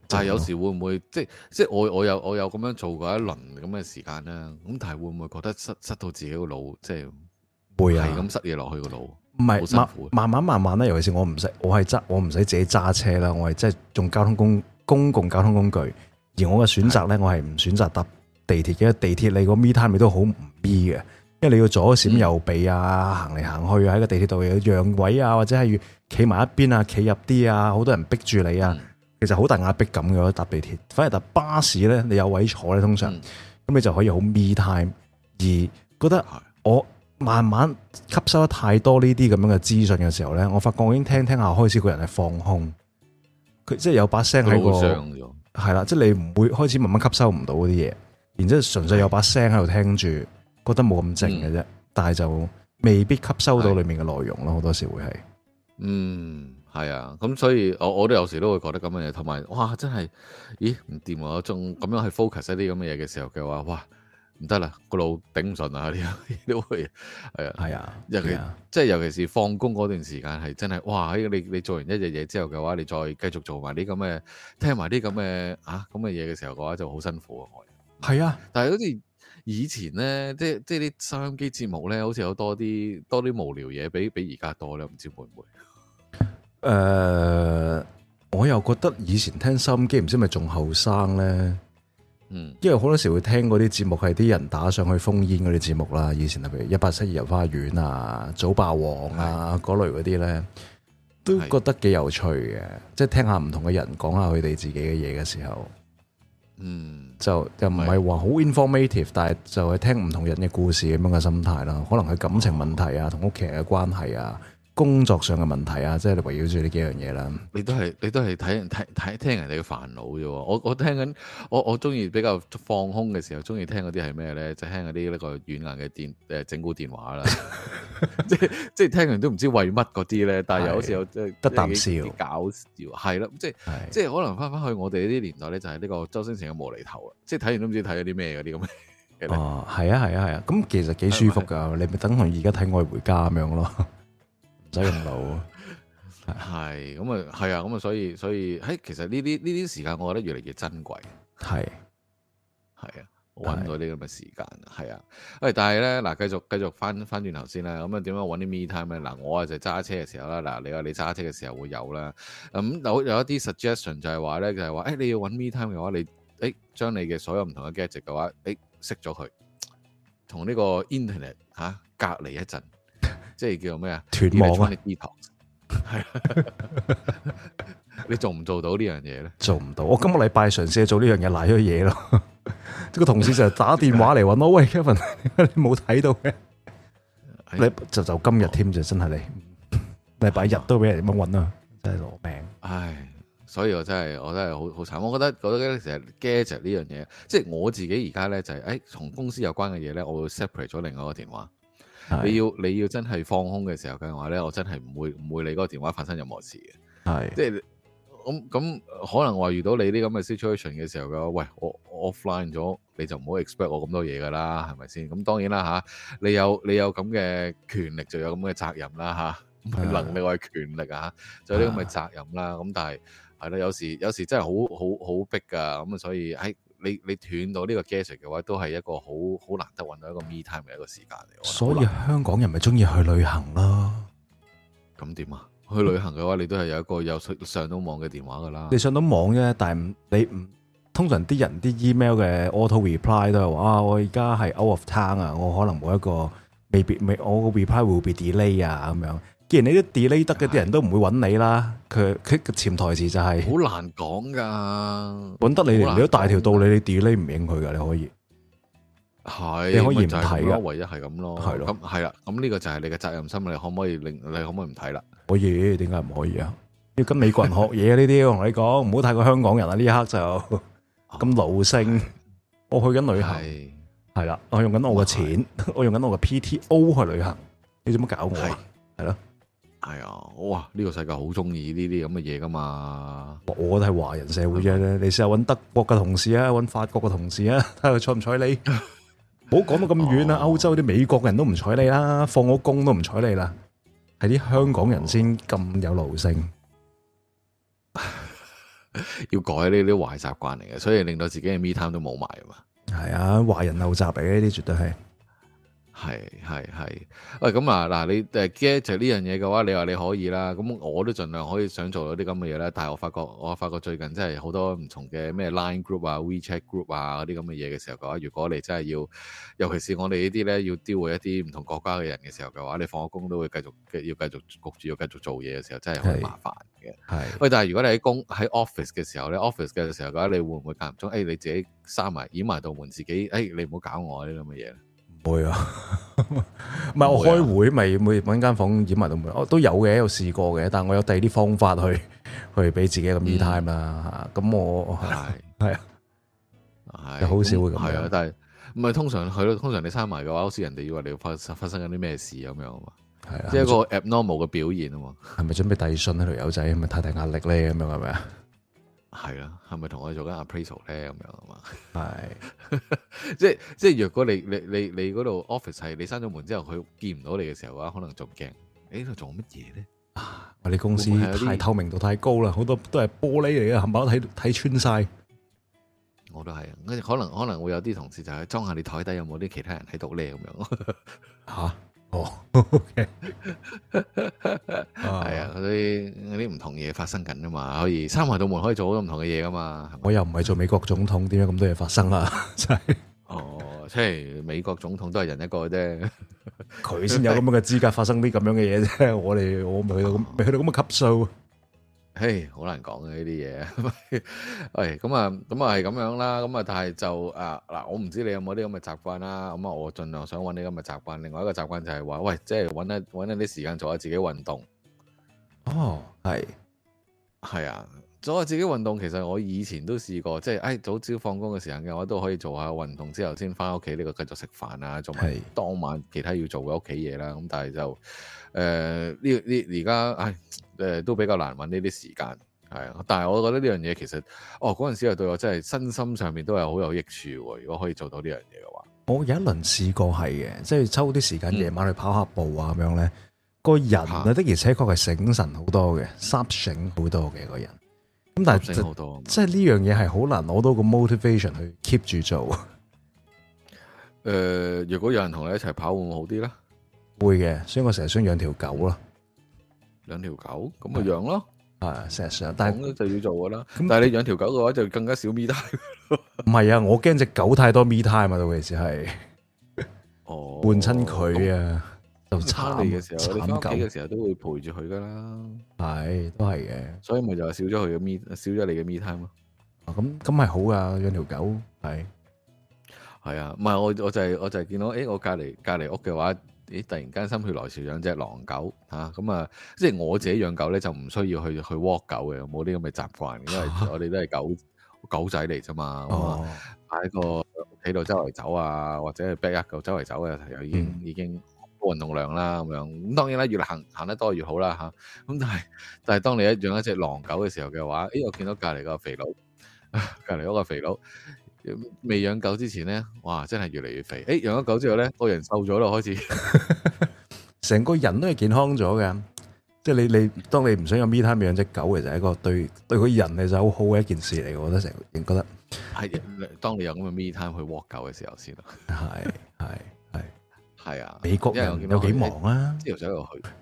C: 但係有時會唔會即係我有咁樣做過一輪咁嘅時間啦。咁但係會唔會覺得塞到自己個腦，即係
A: 會啊，
C: 係咁塞嘢落去個腦？
A: 唔係慢慢咧。尤其是我唔使自己揸車啦，我係即係用公共交通工具。而我嘅選擇咧，我係唔選擇搭地鐵嘅。地鐵你個 me time 你都好唔 me 嘅，因為你要左閃右避啊，行嚟行去啊，喺個地鐵度有讓位啊，或者係要企埋一邊啊，企入啲啊，好多人逼住你啊。其實好大壓迫感嘅，搭地鐵。反而搭巴士咧，你有位坐咧，通常咁你就可以好 me time。而覺得我慢慢吸收得太多呢啲咁樣嘅資訊嘅時候咧，我發覺我已經聽下開始個人係放空。佢即係有把聲喺個係啦，即係你唔會開始慢慢吸收唔到嗰啲嘢，然之後純粹有把聲喺度聽住，覺得冇咁靜嘅啫。但係就未必吸收到裡面嘅內容咯，好多時會係。
C: 係啊，咁所以我都有時都會覺得咁嘅嘢，同埋哇真係，咦唔掂喎！我仲咁樣去 focus 一啲咁嘅嘢嘅時候嘅話，哇唔得啦，個腦頂唔順啊！啲都會係啊，尤其是放工嗰段時間係真係哇！你做完一日嘢之後嘅話，你再繼續做埋啲咁嘅聽埋啲咁嘅咁嘅嘢嘅時候嘅話，就好辛苦啊！
A: 係啊，
C: 但係好似以前咧，即係啲收音機節目咧，好似有多啲無聊嘢，比而家多咧，唔知會唔會？
A: 我又覺得以前聽收音機唔知咪仲後生咧，因為好多時會聽嗰啲節目係啲人打上去烽煙嗰啲節目啦。以前譬如182遊花園啊、早霸王啊嗰類嗰啲咧，都覺得幾有趣嘅。即係聽下唔同嘅人講下佢哋自己嘅嘢嘅時候，就唔係話好 informative，但係就係聽唔同人嘅故事咁樣嘅心態啦。可能係感情問題啊，同屋企人嘅關係啊。工作上嘅問題啊，即係你圍繞住呢幾樣嘢啦。你都係聽人哋嘅煩惱啫。我聽緊，我中意比較放空嘅時候，中意聽嗰啲係咩咧？就聽嗰啲呢個軟硬嘅整蠱電話啦。即係聽完都唔知為乜嗰啲咧，但係有時候即係得啖笑，搞笑係啦。即係可能翻去我哋呢啲年代咧，就係呢個周星馳嘅無厘頭啊！即係睇完都唔知睇咗啲咩嗰啲咁嘅。哦，係啊，咁其實幾舒服噶。你咪等同而家睇《愛回家》咁樣咯。唔使用腦，係咁啊，係啊，咁啊，所以其實呢啲時間，我覺得越嚟越珍貴，係啊，揾到啲咁嘅時間，係啊，但係咧嗱，繼續翻轉頭先啦，咁啊點樣揾啲 me time 咧？嗱，我啊就揸車嘅時候啦，嗱，你話你揸車嘅時候會有啦，咁有一啲 suggestion 就係話咧，你要揾 me time 嘅話，你將你嘅所有唔同嘅 gadget 嘅話，熄咗佢，同呢個 internet 隔離一陣。即係叫咩啊？斷網啊！係你做唔做到呢樣嘢咧？做唔到。我今個禮拜嘗試做呢樣嘢，賴咗嘢咯。即個同事就打電話嚟揾我，喂 Kevin，你冇睇到嘅？你就今日添就真係你禮拜日都俾人咁樣揾啊！真係攞命。唉，所以我真係好慘。我覺得其實 gadget 呢樣嘢，即係我自己而家咧就係同公司有關嘅嘢咧，我會 separate 咗另外一個電話。你要真係放空嘅時候嘅話咧，我真係唔會理嗰個電話發生任何事嘅。係，即係咁可能話遇到你啲咁嘅 situation 嘅時候嘅話，喂，我 offline 咗，你就唔好 expect 我咁多嘢噶啦，係咪先？咁當然啦你有咁嘅權力就有咁嘅責任啦唔係能力我係權力就有啲咁嘅責任啦。咁但係係啦，有時真係好逼噶，咁所以你斷到呢個 gadget 嘅話，都係一個好難得揾到一個 me time 嘅一個時間嚟。所以香港人咪中意去旅行咯。咁點啊？去旅行嘅話，你都係有一個有上到網嘅電話噶啦。你上到網啫，但係你唔通常啲人啲 email 嘅 auto reply 都係話我而家係 out of town 啊，我可能冇一個未我個 reply will be delay 啊咁樣。既然你啲 delay 得嘅啲人都唔會揾你啦，佢嘅潛台詞就係好難講噶，揾得你都大條道理，你 delay 唔應佢噶，你可以係，你可以唔睇噶，唯一係咁咯，係咯，咁係啦，咁呢個就係你嘅責任心，你可唔可以唔睇啦？可以，點解唔可以啊？要跟美國人學嘢呢啲，我同你講，唔好太過香港人啊！呢一刻就咁奴性，我去緊旅行，係啦，我用緊我嘅錢，我用緊我嘅 PTO 去旅行，你做乜搞我啊？係咯。係啊，哇！呢個世界好中意呢啲咁嘅嘢噶嘛。我都係華人社會啫，你試下揾德國嘅同事啊，揾法國嘅同事啊，睇下佢睬唔睬你。唔好講到咁遠啦，歐洲啲美國人都唔睬你啦，放咗工都唔睬你啦，係啲香港人先咁有奴性。
C: 要改呢啲壞習慣嚟嘅，所以令到自己嘅 me time 都冇埋啊嘛。
A: 係啊，壞人陋習嚟嘅呢啲絕對係。
C: 係，喂咁啊嗱，你get 就呢樣嘢嘅話，你話你可以啦，咁我都盡量可以想做到啲咁嘅嘢啦。但係我發覺最近真係好多唔同嘅咩 Line group 啊、WeChat group 啊嗰啲咁嘅嘢嘅時候嘅話，如果你真係要，尤其是我哋呢啲咧要 deal with 一啲唔同國家嘅人嘅時候嘅話，你放咗工都會焗住要繼續做嘢嘅時候，真係好麻煩嘅。係，喂，但係如果你喺 office 嘅時候咧，office 嘅時候嘅話，你會唔會間唔中你自己閂埋掩埋道門，自己你唔好搞我啲咁嘅嘢咧？
A: 唔會啊，唔係我開會咪每揾間房掩埋到門，我都有嘅，有試過嘅，但係我有第二啲方法去俾自己一個 me time 啦嚇。咁我係啊，好少會咁樣。係啊，但係唔係通常你閂埋嘅話，好似人哋以為你發生緊啲咩事咁樣啊嘛。係啊，即係一個 abnormal 嘅表現啊嘛。係咪準備遞信喺條友仔？係咪太大壓力咧？咁樣係咪啊？係啦，係咪同我哋做緊 appraisal 咧？咁樣啊嘛，係，即係若果你嗰度 office 係你閂咗門之後，佢見唔到你嘅時候嘅話，可能仲驚。呢度做乜嘢咧？我哋公司太透明度太高啦，好多都係玻璃嚟嘅，冚唪唥睇穿晒。我都係，可能會有啲同事就係裝下你台底有冇啲其他人喺度咧咁樣。嚇！哦，OK， 係啊，嗰啲唔同嘢發生緊噶嘛，可以閂埋道門，可以做好多唔同嘅嘢噶嘛。我又唔係做美國總統，點解咁多嘢發生啊？真係，即係美國總統都係人一個啫，佢先有咁樣嘅資格發生啲咁樣嘅嘢啫。我未去到咁嘅級數。嘿，好難講嘅呢啲嘢。喂，咁啊係咁樣啦。咁啊，但係就嗱，我唔知你有冇啲咁嘅習慣啦。咁啊，我盡量想揾啲咁嘅習慣。另外一個習慣就係話，喂，即係揾一啲時間做下自己運動。哦，係啊，做下自己運動。其實我以前都試過，即係早朝放工嘅時間嘅話，都可以做下運動之後，先翻屋企呢個繼續食飯啊，做埋當晚其他要做嘅屋企嘢啦。咁但係就而家都比較難揾呢啲時間，係啊！但係我覺得呢樣嘢其實，嗰陣時係對我真係身心上面都係好有益處喎。如果可以做到呢樣嘢嘅話，我有一輪試過係嘅，即係抽啲時間夜晚去跑下步啊咁樣咧，個人啊的而且確係醒神好多嘅，濕醒好多嘅個人。咁但係好多，即係呢樣嘢係好難攞到個 motivation 去 keep 住做。如果有人同你一齊跑會唔會好啲咧？會嘅，所以我成日想養條狗咯。養條狗咁咪養咯，係成日想，但係就要做噶啦。但係你養條狗嘅話，就更加少 me time。唔係啊，我驚隻狗太多 me time 啊，到其時係換親佢啊，就慘你嘅時候，你翻屋企嘅時候都會陪住佢噶啦。係，都係嘅，所以咪就係少咗佢嘅少咗你嘅 me time 咯。咁係好噶，養條狗係啊，唔係我就係見到，我隔離屋嘅話。突然間心血來潮養隻狼狗嚇，咁啊，即係我自己養狗咧就唔需要去 walk 狗嘅，冇啲咁嘅習慣，因為我哋都係狗仔嚟啫嘛，咁啊喺個屋企度周圍走啊，或者係 back 一嚿周圍走嘅，又已經高運動量啦咁樣。咁當然啦，越行得多越好啦嚇。咁但係當你養一隻狼狗嘅時候嘅話，我見到隔離嗰個肥佬，隔離嗰個肥佬。未養狗之前咧，哇，真係越嚟越肥。養咗狗之後咧，個人瘦咗咯，開始成個人都係健康咗嘅。即係你當你唔想有 me time 養隻狗，其實係一個對個人嚟就好好嘅一件事嚟。我覺得成日覺得係當你有咁嘅 me time 去 walk 狗嘅時候先咯。係啊！美國人有幾忙啊？朝頭早又去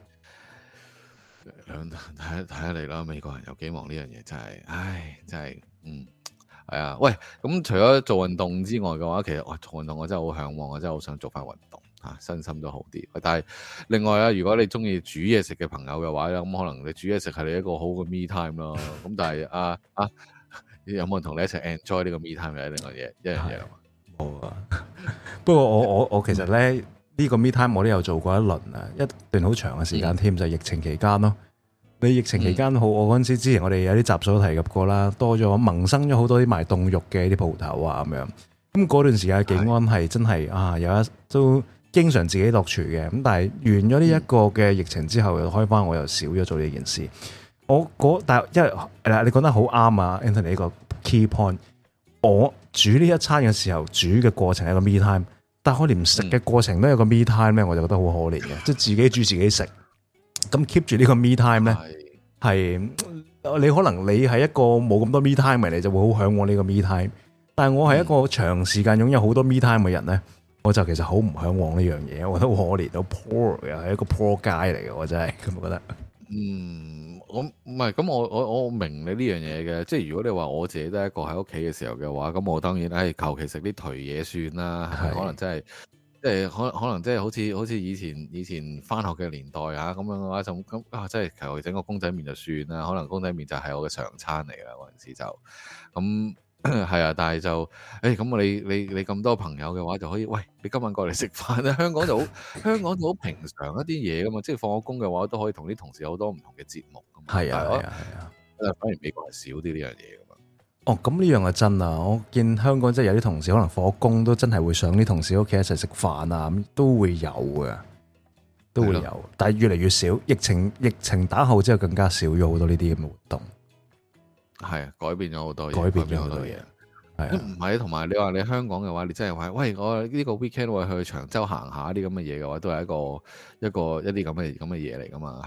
A: 睇下你啦。美國人有幾忙呢樣嘢真係，真係係啊，喂，咁除咗做運動之外嘅話，其實做運動我真係好向往，我真係好想做翻運動身心都好啲。但係另外啊，如果你中意煮嘢食嘅朋友嘅話咧，咁可能你煮嘢食係你一個好嘅 me time 咯。咁但係有冇人同你一齊 enjoy 呢個 me time 嘅另外一樣嘢啊？冇啊。不過我其實咧呢個 me time 我都有做過一輪啊，一段好長嘅時間添，就係疫情期間咯。你疫情期間好，我嗰陣時之前我哋有啲集數都提及過啦，多咗萌生咗好多啲賣凍肉嘅啲鋪頭啊咁樣。咁嗰段時間景安係真係有一都經常自己落廚嘅。咁但係完咗呢一個嘅疫情之後，又開翻我又少咗做呢件事。但係因為你講得好啱啊 Anthony 呢個 key point。我煮呢一餐嘅時候，煮嘅過程係一個 me time，但係我連食嘅過程都有個 me time 咧，我就覺得好可憐嘅，即係自己煮自己食。咁 keep 住呢個 me time 咧，係你可能你係一個冇咁多 me time 嘅，你就會好向往呢個 me time。但係我係一個長時間擁有好多 me time 嘅人咧，我就其實好唔向往呢樣嘢。我覺得可憐到 poor 又係一個 poor guy 嚟嘅，我真係咁覺得。
C: 我唔係咁，我明你呢樣嘢嘅，即係如果你話我自己都係一個喺屋企嘅時候嘅話，咁我當然係求其食啲頹嘢算啦，係咪？可能真係即係可能即係好似以前翻學嘅年代啊咁樣嘅話就咁啊，即係求其整個公仔麵就算啦，可能公仔麵就係我嘅常餐嚟啦嗰陣時就咁。係啊，但係就咁你咁多朋友嘅話就可以，喂，你今晚過嚟食飯啦！香港就好平常一啲嘢噶嘛，即係放咗工嘅話都可以同啲同事有好多唔同嘅節目噶嘛。係啊，反而美國係少啲呢樣嘢噶嘛。哦，咁呢樣係真啊！我見香港即係有啲同事可能放咗工都真係會上啲同事屋企一齊食飯啊，咁都會有嘅，都會有，但係越嚟越少。疫情打後之後更加少咗好多呢啲咁嘅活動。係啊，改變咗好多嘢，改變咗好多嘢。係唔係？同埋你話你香港嘅話，你真係話，喂，我呢個 weekend 我去長洲行下啲咁嘅嘢嘅話，都係一啲咁嘅嘢嚟噶嘛。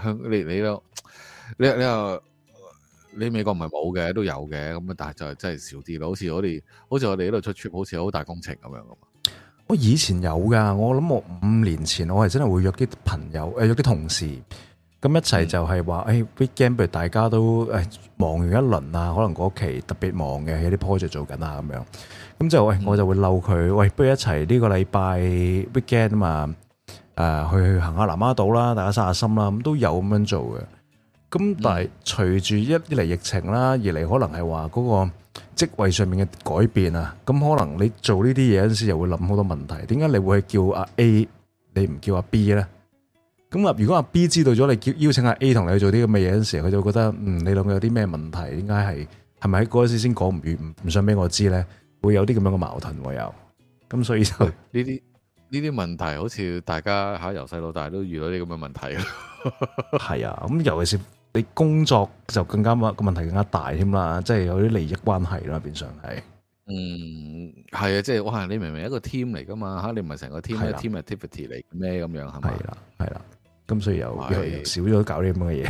C: 你美國唔係冇嘅，都有嘅。咁但係就真係少啲咯。好似我哋呢度出 trip，好似好大工程咁樣噶嘛。我以前有噶，我諗我5年前我係真係會約啲朋友，約啲同事。咁一齊就係話，weekend 不如大家都忙完一輪啊，可能嗰期特別忙嘅，有啲 project 做緊啊咁樣。咁就我就會嬲佢，不如一齊呢個禮拜 weekend 嘛，去行下南丫島啦，大家散下心啦，咁都有咁樣做嘅。咁但係隨住一嚟疫情啦，二嚟可能係話嗰個職位上面嘅改變啊，咁可能你做呢啲嘢嗰陣時又會諗好多問題。點解你會叫阿 A， 你唔叫阿 B 咧？咁啊！如果阿 B 知道咗你邀請阿 A 同你去做啲咁嘅嘢嗰陣時，佢就會覺得你兩個有啲咩問題？點解係咪喺嗰陣時先講唔完，唔想俾我知咧？會有啲咁樣嘅矛盾喎又。咁所以就呢啲問題，好似大家由細到大都遇到啲咁嘅問題。係啊，咁尤其是你工作就更加個問題更加大添啦，即係有啲利益關係啦，變相係。係啊，即係哇！你明明一個 team 嚟噶嘛嚇，你唔係成個 team 係 team activity 嚟咩咁樣係咪？係啦。咁所以又少咗搞啲咁嘅嘢，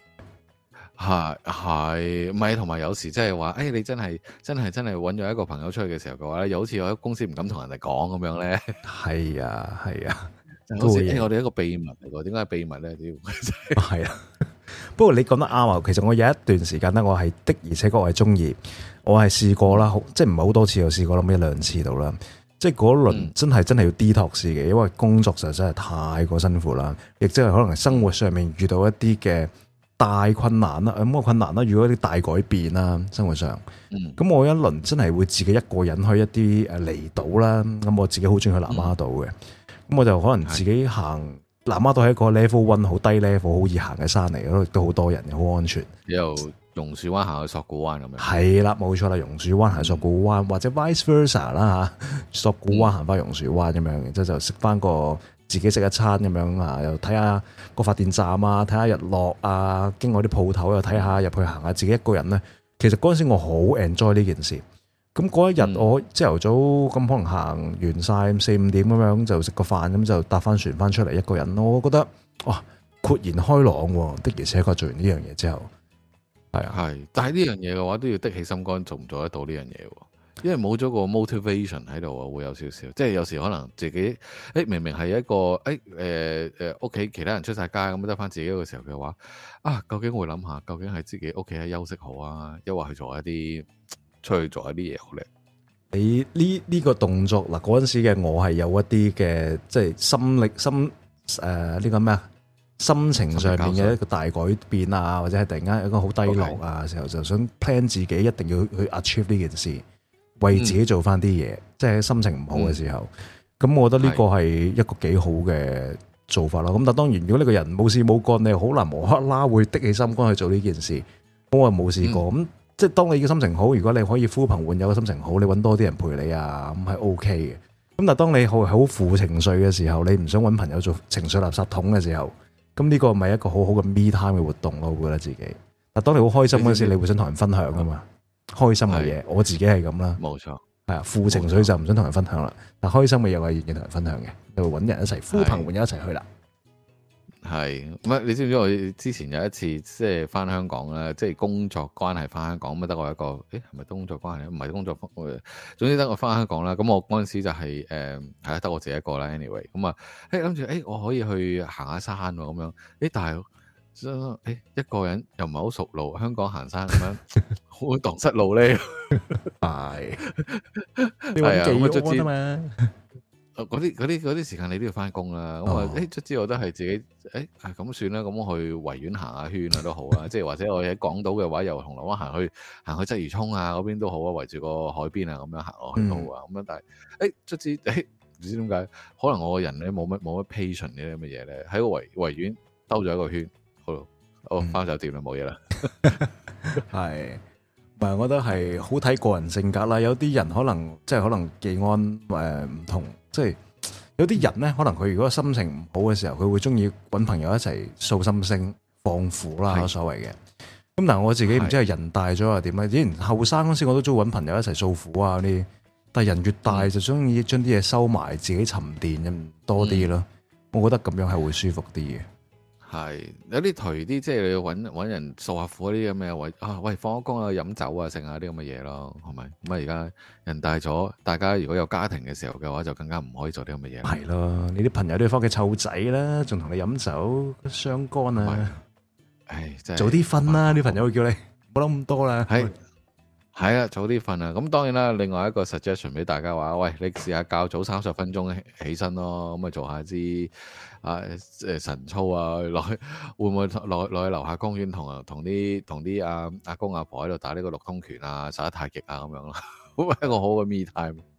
C: 係唔係？同埋有時即係話，你真係揾咗一個朋友出去嘅時候嘅話咧，又好似我喺公司唔敢同人哋講咁樣咧。係啊，好似我哋一個秘密嚟㗎，點解係秘密咧？係啊，不過你講得啱啊！其實我有一段時間咧，我係的而且確係中意，我係試過啦，即係唔係好多次，我試過諗1-2次到啦。即係嗰輪真係要 detox 嘅，因為工作實在係太過辛苦啦，亦即係可能生活上面遇到一啲嘅大困難啦，咁個困難啦，如果啲大改變啦，生活上，咁我一輪真係會自己一個人去一啲離島啦，咁我自己好中意去南丫島嘅，咁我就可能自己行南丫島係一個 level 1好低 level 好易行嘅山嚟，嗰度亦都好多人，好安全。榕樹灣行去索罟灣咁樣，係啦，冇錯啦，榕樹灣行索罟灣，或者 vice versa 啦嚇，索罟灣行翻榕樹灣咁樣，然之後就食翻個自己食一餐咁樣啊，又睇下個發電站啊，睇下日落啊，經過啲鋪頭又睇下入去行下，自己一個人咧，其實嗰陣時我好 enjoy 呢件事。咁嗰一日我朝頭早咁可能行完晒4-5點咁樣就食個飯，咁就搭翻船翻出嚟一個人，我覺得哇豁然開朗喎，的而且確做完呢樣嘢之後。係，但係呢樣嘢嘅話都要的起心肝，做唔做得到呢樣嘢？因為冇咗個 motivation 喺度啊，會有少少，即係有時可能自己明明係一個屋企其他人出晒街咁，得翻自己嘅時候嘅話，究竟我會諗下，究竟係自己屋企喺休息好啊，抑或去做一啲出去做一啲嘢好咧？你呢個動作嗱，嗰陣時嘅我係有一啲嘅，即係呢個咩啊？心情上面嘅一個大改變啊，或者係突然間一個好低落啊嘅時候，就想 plan 自己一定要去 achieve 呢件事，為自己做翻啲嘢，即係心情唔好嘅時候。咁我覺得呢個係一個幾好嘅做法啦。咁但當然，如果你個人冇事冇幹，你好難無啦啦會的起心肝去做呢件事。我又冇試過。咁即係當你嘅心情好，如果你可以呼朋喚友嘅心情好，你揾多啲人陪你啊，咁係 OK 嘅。咁但係當你好負情緒嘅時候，你唔想揾朋友做情緒垃圾桶嘅時候，咁呢個咪一個好好嘅 me time 嘅活動咯，我覺得自己。但當你好開心嗰時，你會想同人分享噶嘛？開心嘅嘢，我自己係咁啦。冇錯，係啊，負情緒就唔想同人分享啦。但開心嘅嘢我係願意同人分享嘅，就會揾人一齊呼朋喚友一齊去啦。 係，唔係你知唔知我之前有一次即係翻香港咧，即係工作關係翻香港，咁得我一個，係咪工作關係？唔係工作，總之得我翻香港啦。咁我嗰陣時就係係得我自己一個啦。anyway，咁啊，諗住我可以去行下山喎，咁樣，但係一個人又唔係好熟路，香港行山咁樣，好蕩失路咧。
A: 係，
C: 係啊，咁卒之
A: 嘛。
C: 嗰啲時間你都要翻工啦，咁啊，卒之我都係自己，咁算啦，咁我去維園行下圈啊都好啊，即係或者我喺港島嘅話，由銅鑼灣行去鰂魚涌啊嗰邊都好啊，圍住個海邊啊咁樣行落去都好啊，咁樣但係，卒之唔知點解，可能我個人咧冇乜 patience 呢啲咁嘅嘢咧，喺個維園兜咗一個圈，好，翻酒店啦，冇嘢啦，
A: 係。唔係，我覺得係好睇個人性格啦。有啲人可能即係可能技安唔同，即係有啲人咧，可能佢如果心情唔好嘅時候，佢會中意揾朋友一齊訴心聲、放苦啦，所謂嘅。咁但係我自己唔知係人大咗又點咧？以前後生嗰時我都中意揾朋友一齊訴苦啊啲，但係人越大就中意將啲嘢收埋，自己沉澱咁多啲咯。我覺得咁樣係會舒服啲嘅。
C: 係有啲頹啲，即係你要揾人訴下苦嗰啲咁嘅喂，放咗工啊，飲酒啊，剩下啲咁嘅嘢咯，係咪？咁啊，而家人大咗，大家如果有家庭嘅時候嘅話，就更加唔可以做啲咁嘅嘢。係
A: 咯，你啲朋友都要翻屋企湊仔啦，仲同你飲酒，傷肝啊！真係早啲瞓啦，啲朋友會叫你唔好諗咁多啦。
C: 係啊，早啲瞓啊！咁當然啦，另外一個 suggestion 俾大家話，喂，你試下較早30分鐘起身咯，咁啊做下啲晨操啊，落去會唔會落去樓下公園同啲阿公阿婆喺度打呢個6通拳啊，耍太極啊咁樣咯，好一個好嘅 me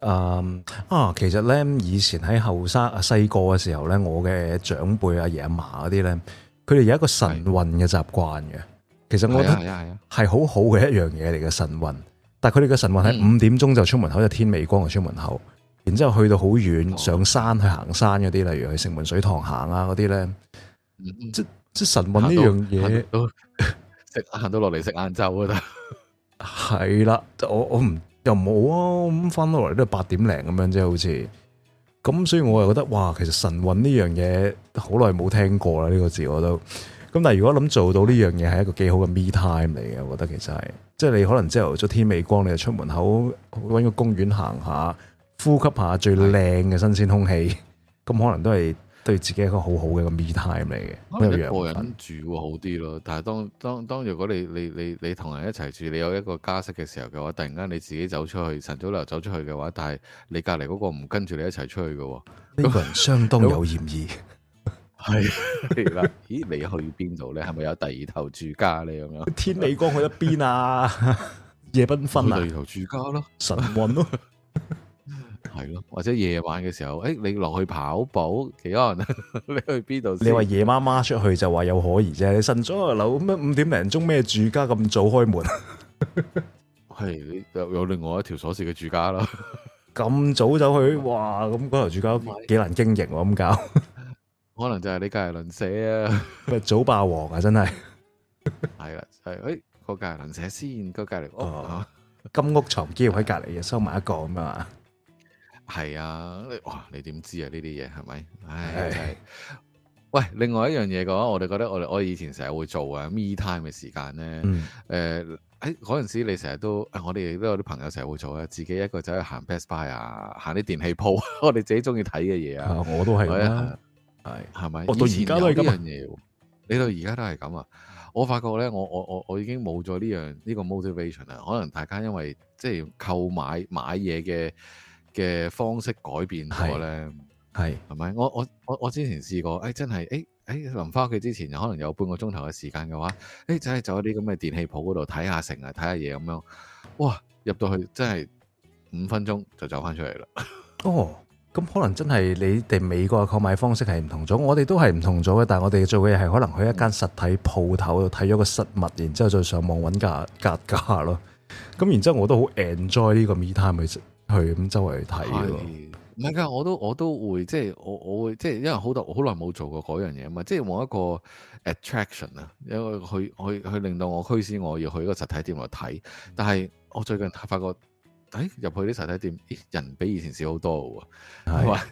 C: time。
A: 其實咧以前喺後生細個嘅時候咧，我嘅長輩阿爺阿嫲嗰啲咧，佢哋有一個晨運嘅習慣嘅。其實我覺得係好好嘅一樣嘢嚟嘅晨運，但係佢哋嘅晨運喺5點鐘就出門口，就天未光就出門口，然之後去到好遠上山去行山嗰啲，例如去城門水塘行啊嗰啲咧，即晨運呢樣嘢，
C: 行到落嚟食晏晝啊！
A: 係啦，我唔又冇啊，咁翻到嚟都係8點零咁樣啫，好似咁，所以我又覺得哇，其實晨運呢樣嘢好耐冇聽過啦，呢個字我都。咁但係如果諗做到呢樣嘢係一個幾好嘅 me time 嚟嘅，我覺得其實係，即係你可能朝頭早天未光你就出門口搵個公園行下，呼吸下最靚嘅新鮮空氣，咁可能都係對自己一個好好嘅個 me time 嚟嘅。
C: 一個人住會好啲咯，但係當如果你同人一齊住，你有一個家室嘅時候嘅話，突然間你自己走出去，晨早流走出去嘅話，但係你隔籬嗰個唔跟住你一齊出去嘅，
A: 呢個人相當有嫌疑。
C: 係啦，咦？你去邊度咧？係咪有第二頭住家咧？咁樣
A: 天未光去一邊啊？夜繽紛啊？
C: 第二頭住家咯，
A: 晨運咯，
C: 係咯，或者夜晚嘅時候，你落去跑步，幾可能？你去邊度？
A: 你話夜媽媽出去就話有可疑啫，你晨早流咩5點零鐘咩住家咁早開門？
C: 係有另外一條鎖匙嘅住家咯，
A: 咁早走去，哇！咁嗰頭住家幾難經營喎，咁搞。
C: 可能就係你隔籬鄰舍啊，
A: 咪早霸王啊，真係
C: 係啦，係個隔籬鄰舍先，個隔籬屋
A: 金屋藏嬌喺隔籬又收埋一個咁啊，
C: 係啊，哇！你點知啊？呢啲嘢係咪？唉，真係。喂，另外一樣嘢嘅話，我哋覺得我以前成日會做啊 me time 嘅時間咧，嗰陣時你成日都，我哋亦都有啲朋友成日會做啊，自己一個走去行 Best Buy 啊，行啲電器鋪，我哋自己中意睇嘅嘢啊，
A: 我都係啦。
C: 係咪？
A: 我到而家都係咁
C: 樣嘢，你到而家都係咁啊！我發覺咧，我已經冇咗呢個 motivation 啦。可能大家因為即係購買嘢嘅方式改變咗咧，係咪？我之前試過，真係臨翻屋企之前，可能有半個鐘頭嘅時間嘅話，真係走啲咁嘅電器鋪嗰度睇下成啊，睇下嘢咁樣，哇！入到去真係5分鐘就走翻出嚟啦。
A: 哦。咁可能真係你哋美國嘅購買方式係唔同咗，我哋都係唔同咗嘅。但係我哋做嘅嘢係可能去一間實體鋪頭度睇咗個實物，然之後再上網揾價咯。咁然之後我都好 enjoy 呢個 me time 去咁周圍去睇咯。
C: 唔係㗎，我都會即係我會即係因為好耐冇做過嗰樣嘢啊嘛，即係冇一個 attraction 啊，因為去令到我驅使我要去一個實體店度睇。但係我最近發覺。入去啲實體店，人比以前少好多喎。係嘛？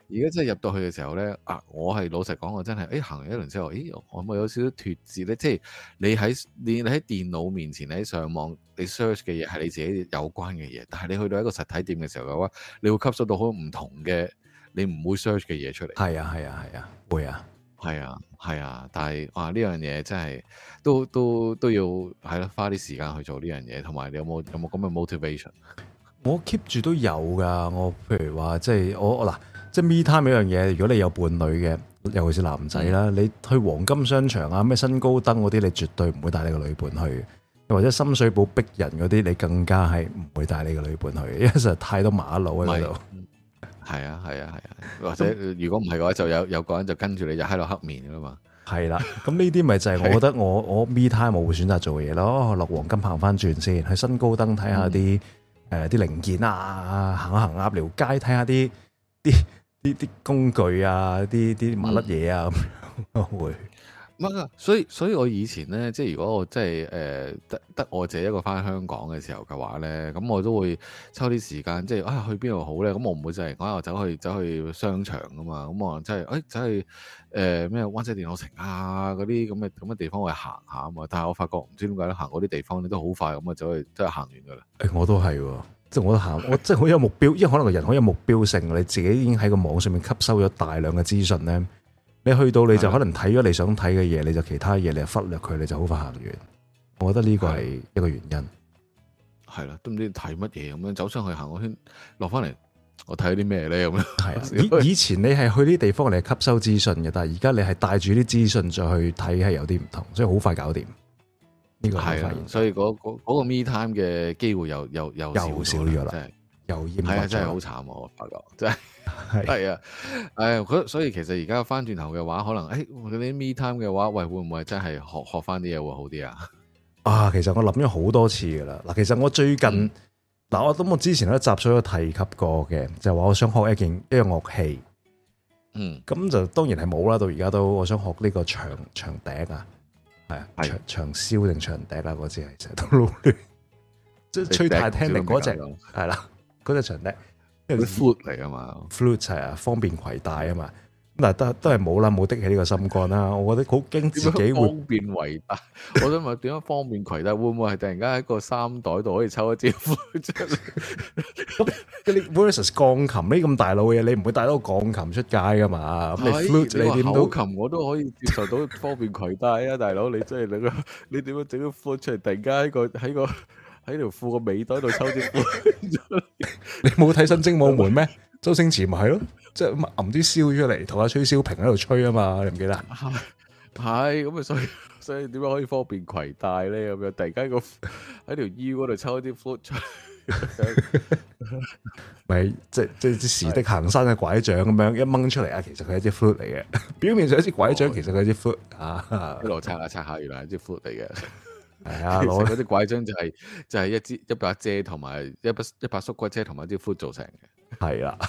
C: 而家真係入到去嘅時候咧，我係老實講，我真係，行完一輪之後，我咪有少少脫節咧。即係你喺電腦面前，你喺上網，你 search 嘅嘢係你自己有關嘅嘢，但係你去到一個實體店嘅時候嘅話，你會吸收到好多唔同嘅你唔會 search 嘅嘢出嚟。係啊，會啊，係啊，但係呢樣嘢真係都要係咯，花啲時間去做呢樣嘢，同埋你有冇咁嘅 motivation？
A: 我 keep 住都有㗎，我譬如話即係我嗱，即係 me time 呢樣嘢，如果你有伴侶嘅，尤其是男仔啦，你去黃金商場啊、咩新高登嗰啲，你絕對唔會帶你個女伴去，又或者深水埗逼人嗰啲，你更加係唔會帶你個女伴去，因為實在太多馬路喺度。
C: 係啊，或者如果唔係嘅話，就有個人就跟住你就喺度黑面㗎啦嘛。係
A: 啦，咁呢啲咪就係我覺得我 me time 我會選擇做嘅嘢咯，落黃金行翻轉先，去新高登睇下啲。啲零件啊，行下鴨寮街睇下啲工具啊，啲麻甩嘢啊咁樣會。
C: 所以我以前咧，即係如果我即係得我自己一個翻香港嘅時候嘅話咧，咁我都會抽啲時間，即係去邊度好咧？咁我唔會就係講我走去商場噶嘛，咁我真係走去咩灣仔電腦城啊嗰啲咁嘅地方去行下啊嘛。但係我發覺唔知點解咧，行嗰啲地方咧都好快咁啊，走去真係行完噶啦。
A: 我都係喎，即係我都行，我即係好有目標，因為可能個人好有目標性，你自己已經喺個網上面吸收咗大量嘅資訊咧。你去到你就可能睇咗你想睇嘅嘢，你就其他嘢你就忽略佢，你就好快行完。我覺得呢個係一個原因。
C: 係啦，都唔知睇乜嘢咁樣，走上去行個圈，落翻嚟，我睇啲咩咧咁樣。
A: 係啊，以前你係去啲地方嚟吸收資訊嘅，但係而家你係帶住啲資訊再去睇，係有啲唔同，所以好快搞掂。呢個係發現，
C: 所以嗰個 me time 嘅機會又少咗啦，真係又
A: 係啊，
C: 真係好慘，我發覺真係。係啊，所以其實而家翻轉頭嘅話，可能嗰啲 me time 嘅話，喂，會唔會真係學翻啲嘢會好啲啊？
A: 其實我諗咗好多次噶啦。嗱，其實我最近我之前喺集數有提及過嘅，就話我想學一個樂器。咁就當然係冇啦。到而家都我想學呢個長笛啊，係啊，長簫定長笛啊，嗰支係成日都撈亂，即係吹太聽力嗰隻係啦，嗰隻長笛。
C: flute 嚟噶嘛
A: ，flute 係啊，方便攜帶啊嘛。咁但係都係冇啦，冇的起呢個心肝啦。我覺得好驚自己會
C: 方便攜帶。我想問點樣方便攜帶？會唔會係突然間喺個衫袋度可以抽一支 flute 出嚟？
A: 咁你 versus 鋼琴呢咁大路嘅嘢，你唔會帶到個鋼琴出街噶嘛？咁你 flute 你點都
C: 口琴我都可以接受到方便攜帶啊，大佬你真係你點樣整個 flute 出嚟？突然間喺條褲個尾袋度抽啲 flute 出嚟？
A: 你冇睇《新精武門》咩？周星馳咪係咯，即係揞啲簫出嚟，同阿崔小平喺度吹啊嘛，你唔記得？
C: 係咁啊，所以點樣可以方便攜帶咧？咁樣突然間喺條腰嗰度抽啲 flute 出嚟，
A: 咪即係時的行山嘅拐杖咁樣一掹出嚟啊！其實佢係一支 flute 嚟嘅，表面上一支拐杖，其實佢係一支 flute 啊！
C: 一路拆下，原來係一支 flute 嚟嘅。
A: 係啊，攞
C: 嗰啲拐杖就係一把遮同埋一把縮骨遮同埋一支 flute 做成嘅。
A: 係啦。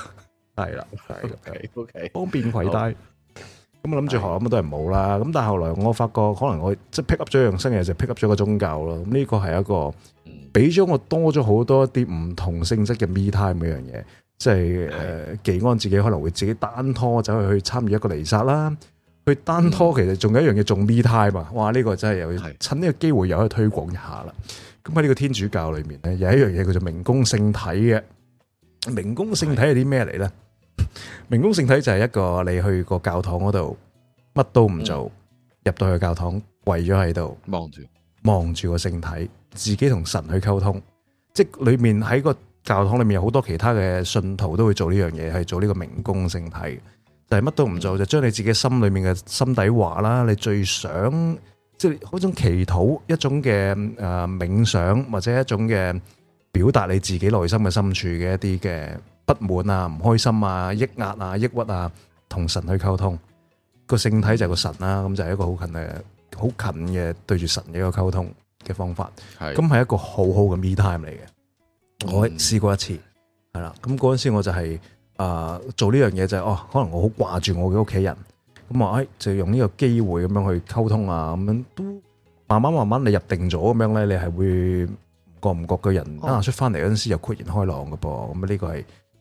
C: OK，
A: 方便攜帶。咁我諗住學咁都係冇啦。咁但係後來我發覺，可能我即係 pick up 咗一樣新嘢，就 pick up 咗個宗教咯。咁呢個係一個俾咗我多咗好多啲唔同性質嘅 me time 呢樣嘢。即係技安自己可能會自己單拖走去參與一個彌撒啦。去單拖其實仲有一樣嘢，仲 me time 啊！哇，呢個真係又要趁呢個機會又可以推廣一下啦。咁喺呢個天主教裏面咧，有一樣嘢叫做明供聖體嘅。明供聖體係啲咩嚟咧？明供聖體就係一個你去個教堂嗰度乜都唔做，入到去教堂跪咗喺度望住個聖體，自己同神去溝通。即係裏面喺個教堂裏面有好多其他嘅信徒都會做呢樣嘢，係做呢個明供聖體。就係乜都唔做，就將你自己心裏面嘅心底話啦，你最想即係嗰種祈禱，一種嘅冥想，或者一種嘅表達你自己內心嘅深處嘅一啲嘅不滿啊、唔開心啊、抑壓啊、抑鬱啊，同神去溝通。個聖體就係個神啦，咁就係一個好近嘅對住神嘅一個溝通嘅方法。咁係一個好好嘅 me time 嚟嘅。我試過一次，係啦。咁嗰陣時我就係。做呢樣嘢就係可能我好掛住我嘅屋企人，咁啊，就用呢個機會咁樣去溝通啊，咁樣都慢慢你入定咗咁樣咧，你係會唔覺嘅人出翻嚟嗰陣時又豁然開朗嘅噃，咁呢個係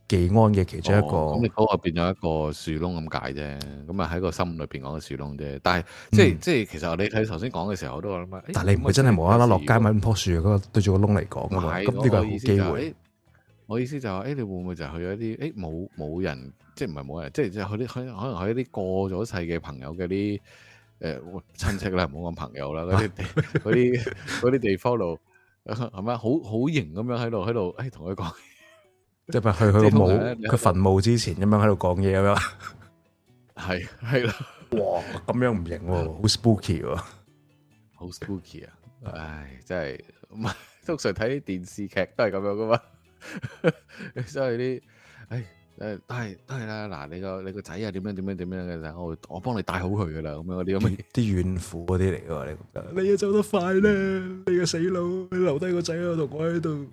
A: 技安嘅其中一個。
C: 咁你嗰個變咗一個樹窿咁解啫，咁啊喺個心裏邊講個樹窿啫。但係即係其實你睇頭先講嘅時候，我都諗啊，
A: 但係你唔會真係無啦啦落街揾棵樹嗰個對住個窿嚟講㗎嘛？咁呢個係好機會。
C: 我意思就係，你會唔會就去咗一啲冇人，即係唔係冇人，即係去啲可能去一啲過咗世嘅朋友嘅啲親戚啦，唔好講朋友啦，嗰啲地方度係咪好型咁樣喺度，同佢講，
A: 即係去佢個墓，佢墳墓之前咁樣喺度講嘢咁樣，
C: 係啦，
A: 哇，咁樣唔型喎，好 spooky 喎，
C: 好 spooky 啊！唉，真係唔係通常睇啲電視劇都係咁樣噶嘛。所以啲，都係啦。嗱，你個仔啊，點樣嘅就我幫你帶好佢噶啦，咁樣嗰啲咁
A: 啲怨婦嗰啲嚟噶，你覺得？你啊走得快咧，你個死佬，你留低個仔啊，同我喺度，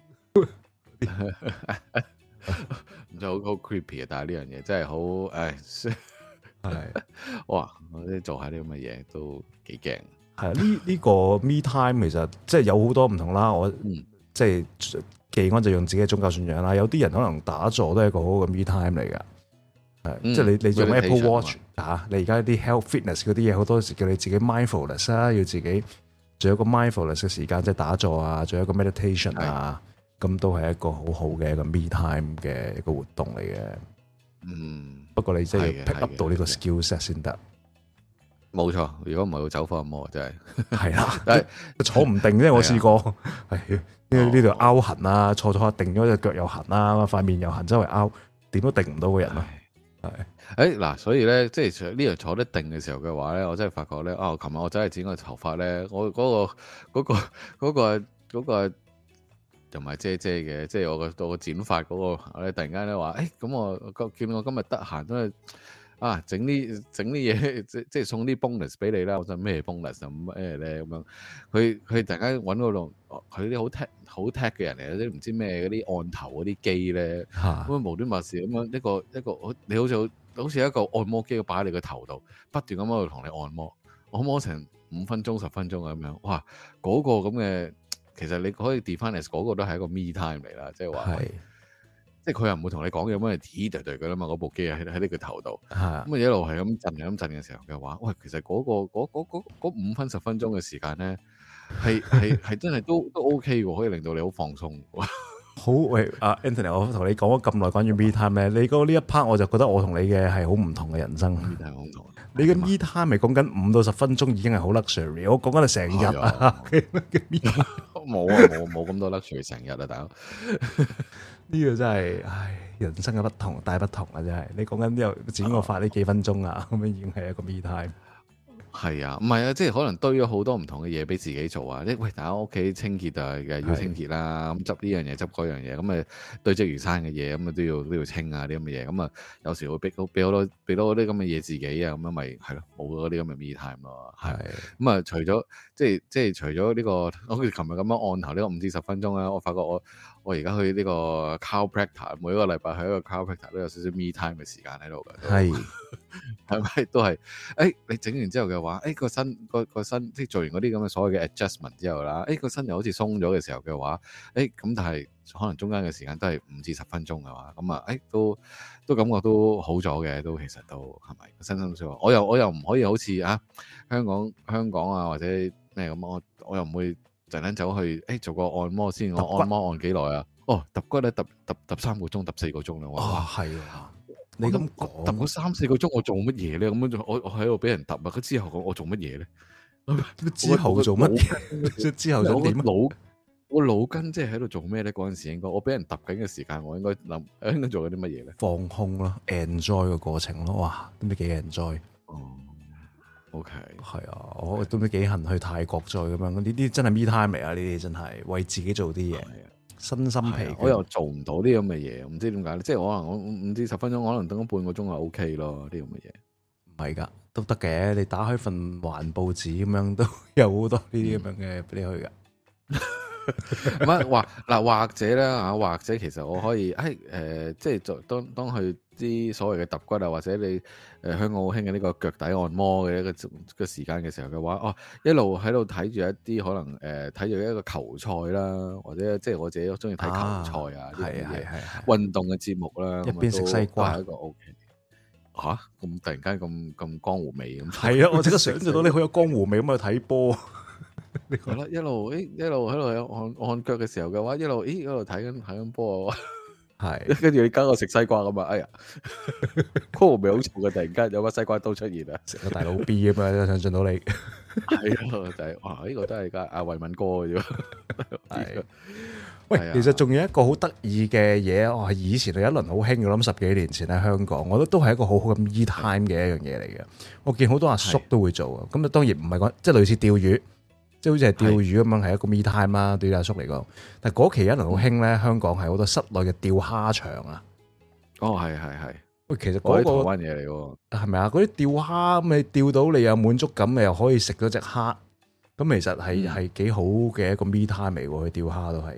C: 唔就好 creepy 啊！但係呢樣嘢真係好，係哇！我啲做下啲咁嘅嘢都幾驚。
A: 係呢個 me time 其實即係有好多唔同啦。我即係。技安就用自己嘅宗教信仰啦，有啲人可能打坐都係一個好好嘅 me time 嚟噶，即係你用 Apple Watch 你而家啲 health fitness 嗰啲嘢，好多時叫你自己 mindfulness 啦，要自己做一個 mindfulness 嘅時間，即係打坐啊，做一個 meditation 啊，咁都係一個好好嘅一個 me time 嘅一個活動嚟嘅。不過你真係要 pick up 到呢個 skill set 先得。
C: 冇錯，如果唔係會走火入魔，真係
A: 係啦，但係坐唔定啫。我試過呢度拗痕啊，坐下定咗隻腳又痕啦，塊面又痕，周圍拗，點都定唔到個人咯。係
C: 嗱，所以咧，即係呢樣坐得定嘅時候嘅話咧，我真係發覺咧，琴日我真係剪個頭髮咧，我嗰個又唔係遮嘅，即係我個剪髮嗰個咧，突然間咧話，咁我見我今日得閒都係。整啲嘢，即係送啲 bonus 俾你啦。我想咩 bonus 咁咩咧咁樣？佢突然間揾嗰度，佢啲好 tech 嘅人嚟，啲唔知咩嗰啲按頭嗰啲機咧，咁啊無端白事咁樣一個你好似一個按摩機擺喺你個頭度，不斷咁喺度同你按摩成5分鐘10分鐘咁樣。哇！嗰個咁嘅，其實你可以 define as 嗰個都係一個 me time 嚟啦，即係話。即係佢又唔會同你講嘢，咁係滴滴㗎啦嘛，嗰部機喺你個頭度，咁啊一路係咁震嘅時候嘅話，喂，其實嗰5分10分鐘嘅時間咧，係真係都 OK 喎，可以令到你好放鬆。
A: 好，喂，Anthony，我同你講咗咁耐關於 me time 咧，你講呢一 part 我就覺得我同你嘅係好唔同嘅人生。
C: me time 好唔同。
A: 你嘅 me time 咪講緊5到10分鐘已經係好 luxury，我講緊係成日啊。
C: 冇咁多 luxury 成日啊，大佬。
A: 呢個真係，人生嘅不同大不同啊！真係，你講緊呢度剪個髮呢幾分鐘啊，咁樣已經係一個 me time。
C: 係啊，唔係啊，即係可能堆咗好多唔同嘅嘢俾自己做啊！喂，大家屋企清潔啊，要清潔啦，咁執呢樣嘢，執嗰樣嘢，咁堆積如山嘅嘢，咁都要清啊啲咁嘅嘢，咁有時會俾好多啲咁嘅嘢自己啊，咁樣咪係咯，冇嗰啲咁嘅 me time 咯，係。咁除咗即係除咗呢個，好似琴日咁樣按頭呢個5至10分鐘啦，我發覺我而家去呢個 chiropractor，每一個禮拜去一個 chiropractor 都有少少 me time 嘅時間喺度嘅。係。係咪都係？你整完之後嘅話，個身即係做完嗰啲咁嘅所謂嘅 adjustment 之後啦，個身又好似鬆咗嘅時候嘅話，咁但係可能中間嘅時間都係5至10分鐘嘅話，咁啊，都感覺都好咗嘅，都其實都係咪身心舒服？我又唔可以好似香港啊或者咩咁，我又唔會突然間走去做個按摩先，我按摩按幾耐啊？揼骨咧揼3個鐘揼4個鐘啦，哇係啊！你咁揼嗰3-4個鐘，我做乜嘢咧？咁樣我喺度俾人揼啊！佢之後我做乜嘢咧？
A: 之後做乜嘢？之後做點？
C: 我腦筋即係喺度做咩咧？嗰陣時應該我俾人揼緊嘅時間，我應該做緊啲乜嘢咧？
A: 放空咯 ，enjoy 個過程咯。哇，都唔知幾 enjoy。
C: OK，
A: 係啊，我都唔知幾恨去泰國再咁樣。呢啲真係 me time 嚟啊！呢啲真係為自己做啲嘢。身心疲倦，我又做唔到啲咁嘅嘢，唔知點解咧？即係可能我5至10分鐘，可能等咗半個鐘就 OK 咯，啲咁嘅嘢。唔係㗎，都得嘅。你打開份環報紙咁樣，都有好多呢啲咁樣嘅俾你去㗎。
C: 唔係話嗱，或者咧嚇，或者其實我可以即係就當佢啲所謂嘅揼骨啊，或者你香港好興嘅呢個腳底按摩嘅一個時間嘅時候嘅話，一路喺度睇住一啲可能睇住一個球賽啦，或者即係我自己都中意睇球賽啊，係運動嘅節目啦，
A: 一邊食西瓜
C: 係一個 OK。嚇！咁突然間咁江湖味咁，
A: 係啊！我即刻想像到你好有江湖味咁去睇波。
C: 係啦，一路喺度按腳嘅時候嘅話，一路睇緊波啊！係，跟住你加個食西瓜咁啊！哎呀，江湖味好重嘅，突然間有個西瓜刀出現啊！
A: 食個大佬 B 咁啊！想像到你
C: 係咯，就係哇！呢個都係家阿維敏哥嘅啫。係。
A: 喂，其實仲有一個好得意嘅嘢，我係以前有一輪好興嘅，我諗10幾年前喺香港，我覺得都係一個好好嘅 me time 嘅一樣嘢嚟嘅。我見好多阿叔都會做啊，咁啊當然唔係講即係類似釣魚，即係好似係釣魚咁樣係一個 me time 啦，對阿叔嚟講。但係嗰期一輪好興咧，香港係好多室內嘅釣蝦場啊。
C: 哦，係。
A: 喂，其實嗰個
C: 台灣嘢嚟喎，
A: 係咪啊？嗰啲釣蝦咁，你釣到你有滿足感，你又可以食到隻蝦，咁其實係幾好嘅一個 me time 嚟喎，去釣蝦都係。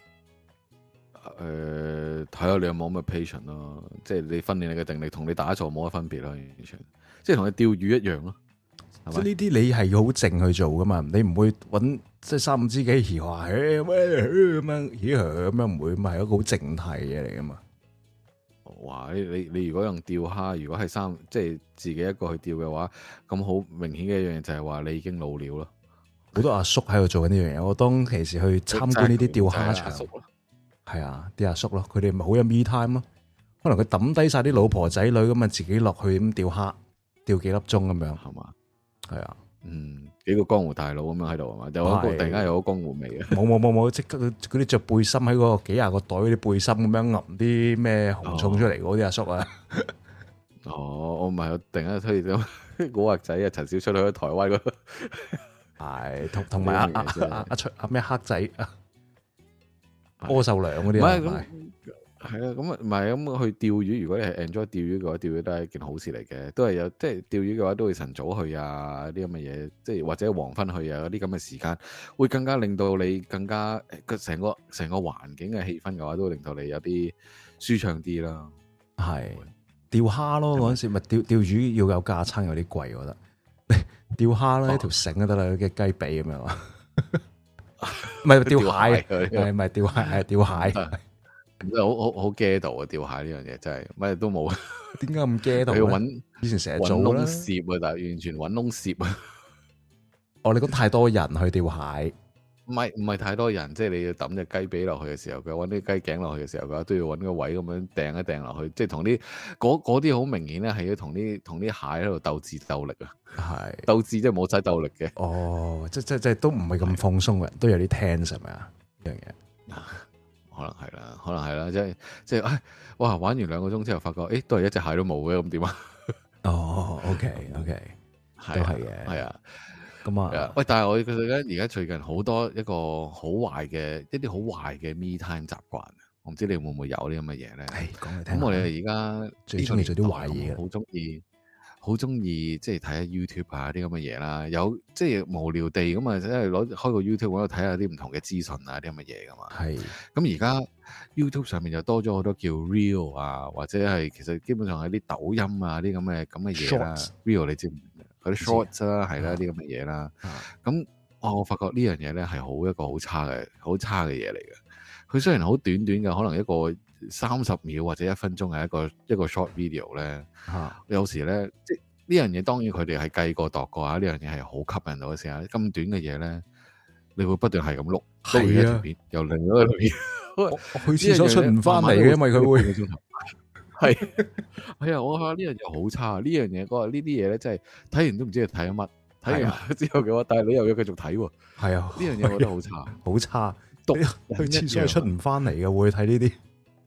C: 睇下你有冇咁嘅 patience 咯，即係你訓練你嘅定力，同你打坐冇乜分別咯，完全，即係同你釣魚一樣咯。
A: 即係呢啲你係要好靜去做噶嘛，你唔會揾即係3、5知己嘻話咁樣唔會，咪係一個好靜態嘅嘢嚟噶嘛。
C: 哇！你如果用釣蝦，如果係即係自己一個去釣嘅話，咁好明顯嘅一樣嘢就係話你已經老了咯。好
A: 多阿叔喺度做緊呢樣嘢，我當其時去參觀呢啲釣蝦場。係啊，啲阿叔咯，佢哋咪好有 me time 咯。可能佢抌低晒啲老婆仔女咁啊，自己落去咁釣蝦，釣幾粒鐘咁樣，係嘛？係啊，
C: 幾個江湖大佬咁樣喺度係嘛？有一個突然間有個江湖味啊！
A: 冇，即刻嗰啲着背心喺嗰個幾廿個袋嗰啲背心咁樣揞啲咩紅葱出嚟嗰啲阿叔啊！
C: 我唔係，我突然間推咗古惑仔啊，陳小春去台灣嗰度，
A: 係同埋阿咩黑仔柯受良嗰啲啊，
C: 係啊，咁啊唔係咁去釣魚。如果你係 enjoy 釣魚嘅話，釣魚都係一件好事嚟嘅，都係有即係釣魚嘅話，都會晨早去啊啲咁嘅嘢，即係或者黃昏去啊嗰啲咁嘅時間，會更加令到你更加成個環境嘅氣氛嘅話，都會令到你有啲舒暢啲啦。
A: 係釣蝦咯，嗰陣時咪釣魚要有架撐，有啲貴，我覺得釣蝦咧一條繩就得啦，嘅雞髀咁樣啊。唔係釣蟹，係咪釣蟹？係釣蟹，
C: 真係好驚到啊！釣蟹呢樣嘢真係乜都冇。
A: 點解咁驚到？
C: 要揾
A: 以前成日做啦，
C: 攝啊，但係完全揾窿攝啊！
A: 你講太多人去釣蟹，
C: 唔係太多人，即係你要抌隻雞髀落去嘅時候，佢揾啲雞頸落去嘅時候，佢都要揾個位咁樣掟一掟落去，即係同啲嗰啲好明顯咧，係要同啲蟹喺度鬥智鬥力啊！係鬥智即係冇使鬥力嘅。
A: 哦，即係都唔係咁放鬆嘅，都有啲 tense 係咪啊？呢樣嘢
C: 可能係啦，即係哇！玩完2個鐘之後，發覺都係一隻蟹都冇嘅，咁點啊？
A: 哦，OK，都係嘅，係啊。咁啊，
C: 喂！但係我覺得而家最近好多一啲好壞嘅 me time 習慣，我唔知你會唔會有啲咁嘅嘢咧？
A: 講嚟聽。
C: 咁我哋而家
A: 最中意做啲壞嘢，
C: 好中意即係睇下 YouTube 啊啲咁嘅嘢啦。有即係無聊地咁啊，即係開個 YouTube 喺度睇下啲唔同嘅資訊啊啲咁嘅嘢噶嘛。係。咁而家 YouTube 上面就多咗好多叫 Reel 啊，或者係其實基本上係啲抖音啊啲咁嘅嘢啦。Reel 你知唔知？嗰啲 shorts 啦，係啦，啲咁嘅嘢啦。咁我發覺呢樣嘢咧係一個好差嘅嘢嚟嘅。佢雖然好短嘅，可能一個30秒或者1分鐘係一個 short video 咧。有時咧，即係呢樣嘢，當然佢哋係計過度過啊。呢樣嘢係好吸引到嘅時候，咁短嘅嘢咧，你會不斷係咁碌到一條片，又另一條片。
A: 我去廁所出唔翻嚟嘅，因為佢會
C: 係啊！我話呢樣嘢好差，呢樣嘢我話呢啲嘢咧，真係睇完都唔知佢睇咗乜。睇完之後嘅話，但係你又要繼續睇喎。係啊，呢樣嘢我覺得好差，好差。
A: 去廁所出唔翻嚟嘅，會睇呢啲。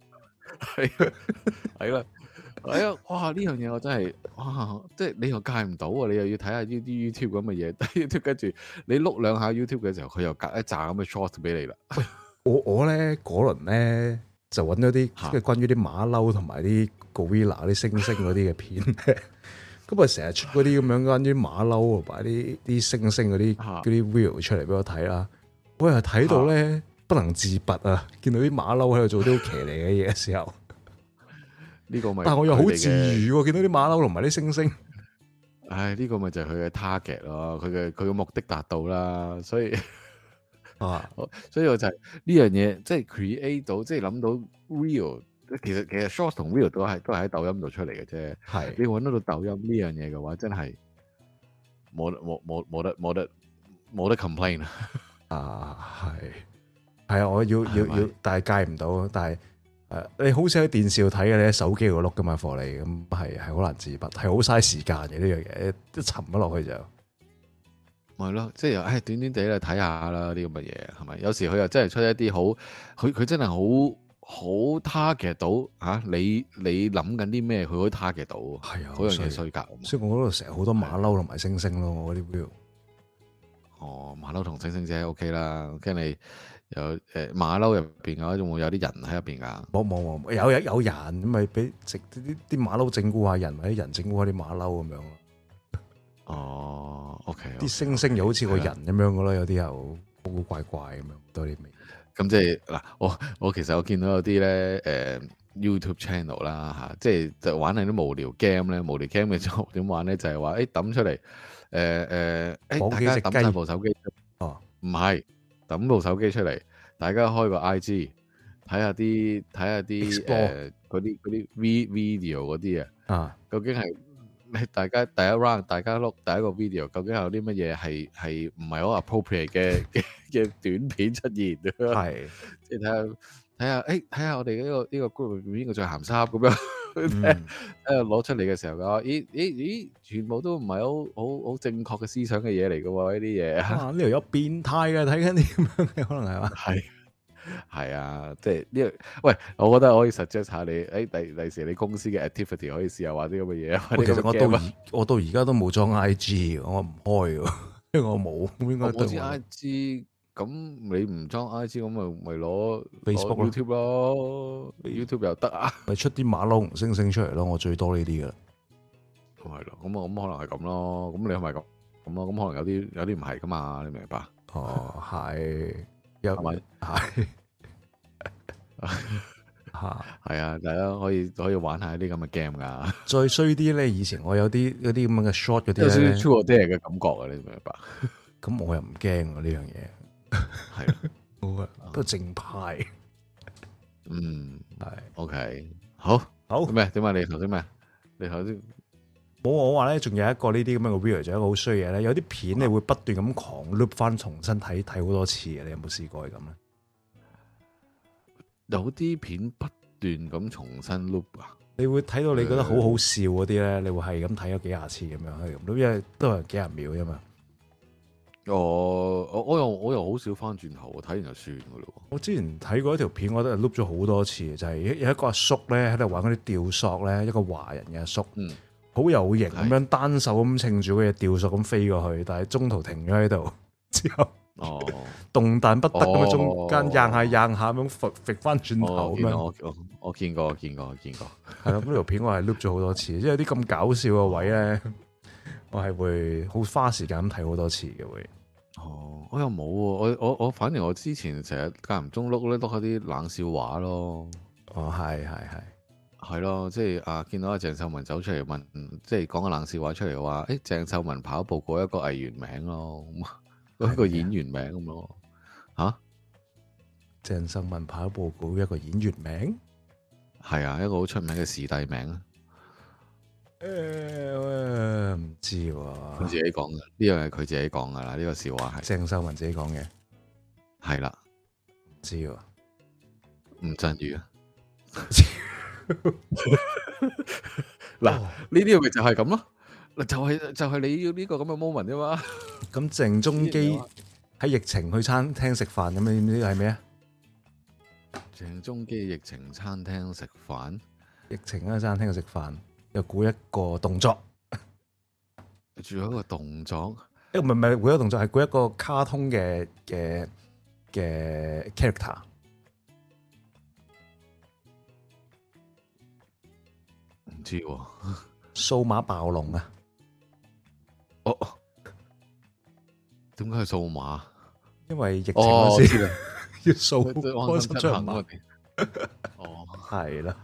C: 係啦，哇！呢樣嘢我真係哇，即係你又戒唔到啊！你又要睇下呢啲 YouTube 咁嘅嘢，跟住你碌兩下 YouTube 嘅時候，佢又隔一紮咁嘅 short 俾你啦。
A: 我咧嗰輪咧就揾咗啲即係關於啲馬騮同埋啲 gorilla 啲猩猩嗰啲嘅片，咁啊成日出嗰啲咁樣關於馬騮同埋啲猩猩嗰啲 video 出嚟俾我睇啦。我又睇到咧不能自拔啊！見到啲馬騮喺度做啲好騎呢嘅嘢嘅時候，
C: 呢個咪，
A: 但係我又好治癒喎！見到啲馬騮同埋啲猩猩，
C: 唉，呢個咪就係佢嘅 target 咯，佢嘅目的達到啦，所以所以我就係呢樣嘢，即係 create 到，即係諗到 real。其實 short 同 real 都係喺抖音度出嚟嘅啫。係你揾到抖音呢樣嘢嘅話，真係冇得 complain
A: 啊！係啊！我要，但係戒唔到。但係你好似喺電視度睇嘅，你喺手機度碌噶嘛，貨你咁係好難自拔，係好嘥時間嘅呢樣嘢，一沉咗落去就
C: 係咯，即係短短地嚟睇下啦，啲咁嘅嘢係咪？有時佢又真係出一啲好，佢真係好 target 到嚇你諗緊啲咩，佢可以 target 到。係啊，嗰樣嘢衰格。
A: 所以我嗰度成日好多馬騮同埋猩猩咯，我啲 view。
C: 馬騮同猩猩姐 OK 啦，跟住你有馬騮入邊嘅話，仲會有啲人喺入邊噶？冇，有人咁咪俾啲馬騮整蠱下人，或者人整蠱下啲馬騮咁樣咯。OK。啲猩猩又好似個人咁樣嘅咯，有啲又古古怪怪咁樣多啲味。咁即係嗱，我其實我見到有啲咧YouTube channel 啦嚇，即係就玩係啲無聊 game 咧，無聊 game 嘅就點玩咧？就係話抌出嚟。大家抌晒部手機，唔係抌部手機出嚟，大家開個 IG 睇下啲嗰啲 video 嗰啲啊，究竟係大家第一 round 大家碌第一個 video，究竟有啲乜嘢係唔係好 appropriate 嘅短片出現？係即係睇下我哋呢個 group 入邊邊個最鹹濕咁樣。攞出嚟嘅時候嘅，咦，全部都唔係好正確嘅思想嘅嘢嚟嘅喎，呢啲嘢。呢度有變態嘅，睇緊啲咁樣嘅，可能係嘛？係啊，即係呢個。喂，我覺得可以 suggest 下你，第時你公司嘅 activity 可以試下玩啲咁嘅嘢。其實我到而家都冇裝 IG，我唔開嘅，因為我冇。我知 IG。咁你唔裝 IG 咁咪攞 Facebook YouTube 咯，YouTube 又得啊，咪出啲馬騮同猩猩出嚟咯，我最多呢啲噶啦，係咯，咁可能係咁咯，咁你係咪咁咯？咁可能有啲唔係噶嘛，你明白？係，係咪？係，係啊，大家可以玩下啲咁嘅 game 噶。再衰啲咧，以前我有啲咁樣嘅 short 嗰啲咧，True or Dare嘅感覺啊，你明唔明白？咁我又唔驚呢樣嘢。係啦，都正派。係 OK，好咩？點解你頭先咩？你頭先冇我話咧，仲有一個呢啲咁樣嘅 video，仲有一個好衰嘢咧。有啲片你會不斷咁狂 loop 翻，重新睇好多次嘅。你有冇試過係咁咧？有啲片不斷咁重新 loop 啊！你會睇到你覺得好好笑嗰啲咧，你會係咁睇咗幾廿次咁樣，係咁，因為都係幾廿秒啫嘛。我又好少翻轉頭，睇完就算噶咯。我之前睇過一條片，我覺得係碌咗好多次，就係有一個阿叔咧喺度玩嗰啲吊索咧，一個華人嘅阿叔，好有型咁樣單手咁撐住嗰隻吊索咁飛過去，但係中途停咗喺度，之後動彈不得咁樣，中間硬下咁揈翻轉頭咁樣。我見過。係咯，嗰條片我係碌咗好多次，即係有啲咁搞笑嘅位咧。我係會好花時間咁睇好多次嘅會。我又冇喎，我反而我之前成日間唔中碌下啲冷笑話咯。係咯，即係見到阿鄭秀文走出嚟問，即係講個冷笑話出嚟嘅話，鄭秀文跑步過一個藝員名咯，一個演員名咁咯。鄭秀文跑步過一個演員名？係啊，一個好出名嘅視帝名啊。唔知喎，佢自己講嘅，呢樣係佢自己講噶啦，呢個笑話係鄭秀文自己講嘅，係啦，唔知喎，吳鎮宇啊，嗱，呢啲咪就係咁咯，就係你要呢個咁嘅 moment 啫嘛。咁鄭中基喺疫情去餐廳食飯咁，你知係咩啊？鄭中基疫情餐廳食飯，疫情喺餐廳度食飯。又估一個動作，仲有一個動作，唔係估一個動作，係估一個卡通嘅 character，唔知喎，數碼暴龍啊！點解係數碼？因為疫情嗰時，
A: 要掃
C: 安心出行嗰啲。哦，
A: 係啦。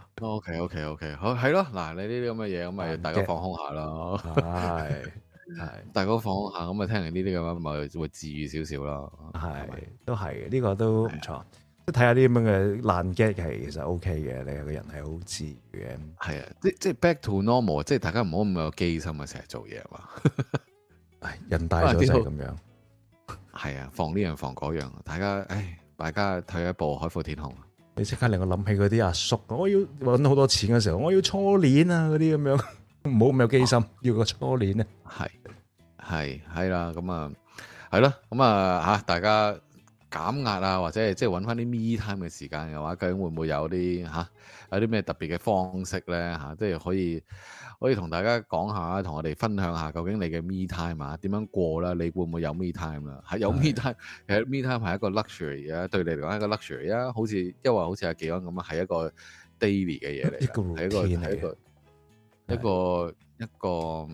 C: OK，好係咯。嗱，你呢啲咁嘅嘢，咁咪大家放空下咯。係，大家放空下，咁咪聽完呢啲咁樣，咪會治愈少少咯。
A: 係，都係嘅，呢個都唔錯。即係睇下啲咁樣嘅爛 gag 係其實 OK 嘅，你個人係好治愈嘅。係啊，
C: 即係 back to normal，即係大家唔好咁有機心啊，成日做嘢嘛。
A: 人大咗就係咁樣。
C: 係啊，防呢樣防嗰樣，大家退一步海闊天空。
A: 你即刻令我諗起嗰啲阿叔，我要搵好多錢嘅時候，我要初戀啊嗰啲咁樣，唔好咁有機心，要個初戀咧。
C: 係啦，咁啊係咯，咁啊吓，大家減壓啊，或者係即係搵翻啲 me time 嘅時間嘅話，究竟會唔會有啲有啲咩特別嘅方式咧吓，即係可以同大家講下，同我哋分享下，究竟你嘅 me time 啊點樣過啦？你會唔會有 me time 啦？係有 me time，其實 me time 係一個 luxury 啊，對你嚟講係一個 luxury 啊，好似阿技安咁啊，係一個 daily 嘅嘢嚟，係一個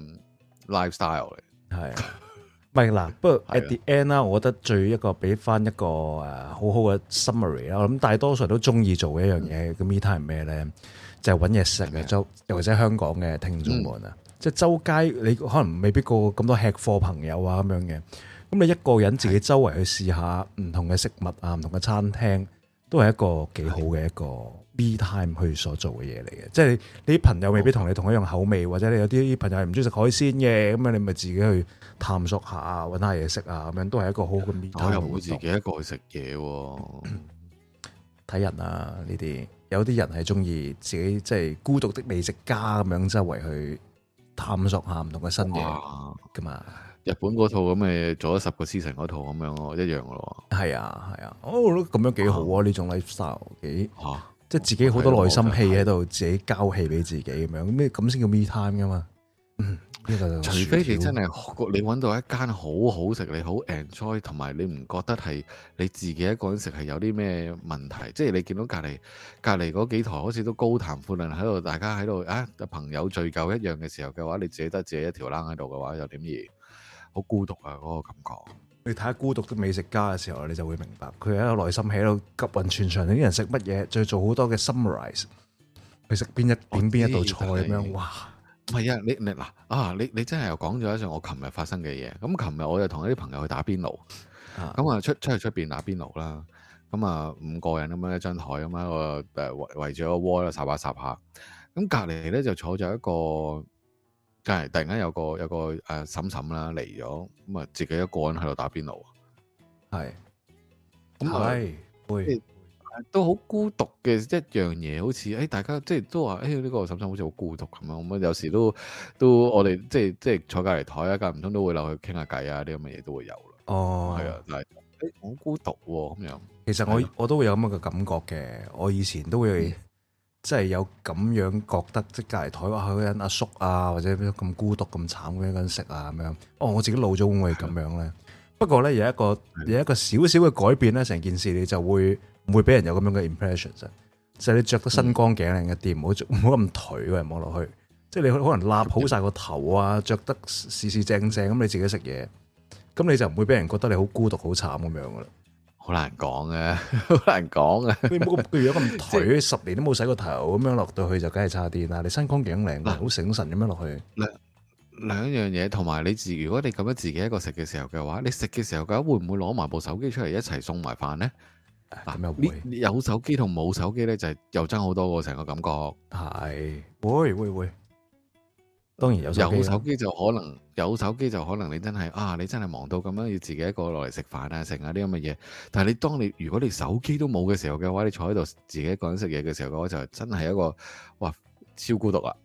C: lifestyle 嚟，係。
A: 唔係嗱，不過 at the end 啦，我覺得一個俾翻一個好好嘅 summary 啦。我諗大多數人都中意做嘅一樣嘢，個 me time 係咩咧？就係揾嘢食嘅，又或者香港嘅聽眾們啊，即係周街你可能未必過咁多吃貨朋友啊咁樣嘅，咁你一個人自己周圍去試下唔同嘅食物啊，唔同嘅餐廳，都係一個幾好嘅一個 me time 去所做嘅嘢嚟嘅。即係你啲朋友未必同你同一樣口味，或者你有啲朋友係唔中意食海鮮嘅，咁樣你咪自己去探索下，揾下嘢食啊，咁樣都係一個好好嘅 me time。我又
C: 唔會自己一個去食嘢喎，
A: 睇人啊呢啲。有啲人係中意自己即係孤獨的美食家咁樣周圍去探索下唔同嘅新嘢噶嘛。
C: 日本嗰套咁嘅做咗10個 season 嗰套咁樣咯，一樣噶咯。
A: 係啊，我覺得咁樣幾好啊！呢種 lifestyle 幾即係自己好多內心戲喺度，自己交戲俾自己咁樣，咁先叫 me time 噶嘛。
C: 除非你真係你揾到一間好好食，你好 enjoy， 同埋你唔覺得係你自己一個人食係有啲咩問題？即係你見到隔離嗰幾台好似都高談闊論喺度，大家喺度朋友聚舊一樣嘅時候嘅話，你自己得自己一條冷喺度嘅話，又點而好孤獨啊？嗰個感覺。
A: 你睇下孤獨的美食家嘅時候，你就會明白佢喺個內心喺度急運全場，啲人食乜嘢，再做好多嘅 summarize，佢食邊一道菜咁樣，哇！
C: 唔係啊，你真係又講咗一樣我琴日發生嘅嘢。咁琴日我就同一啲朋友去打邊爐，咁啊出去出邊打邊爐啦。咁啊5個人咁樣一張台咁樣個圍住個鍋啦，霎下。咁隔離咧就坐咗一個，突然間有個嬸嬸啦嚟咗，咁啊自己一個人喺度打邊爐。係，咁會。都好孤獨嘅一樣嘢，好似大家即係都話呢個嬸嬸好似好孤獨咁樣。咁有時都我哋即係坐隔離台啊，間唔中都會留去傾下偈啊，啲咁嘅嘢都會有啦。哦，係啊，但係好孤獨喎咁樣。其實
A: 我都會有咁嘅感覺嘅。我以前都會即係有咁樣覺得，即係隔離台話嗰人阿叔啊，或者咁孤獨咁慘嘅一個人食啊咁樣。我自己老咗會唔會咁樣咧？不過咧有一個少少嘅改變咧，成件事你就會唔會俾人有咁樣嘅 impression 啫？就係你着得身光頸靚一啲，唔好咁頹嘅望落去。即係你可能立好晒個頭啊，着得四正咁，你自己食嘢，咁你就唔會俾人覺得你好孤獨好慘咁樣噶啦。好難講嘅，好難講嘅。你冇個樣咁頹，10年都冇洗過頭咁樣落到去就梗係差啲啦。你身光頸靚，好醒神咁樣落去。兩樣嘢，同埋你如果你咁樣自己一個食嘅時候嘅話，你食嘅時候嘅話，會唔會攞埋部手機出嚟一齊送埋飯咧？咁又會有手機同冇手機咧，就係又爭好多個成個感覺。係會，當然有手機就可能你真係忙到咁樣要自己一個落嚟食飯啊，食下啲咁嘅嘢。但係如果你手機都冇嘅時候嘅話，你坐喺度自己一個人食嘢嘅時候嘅話，就真係一個超孤獨啊！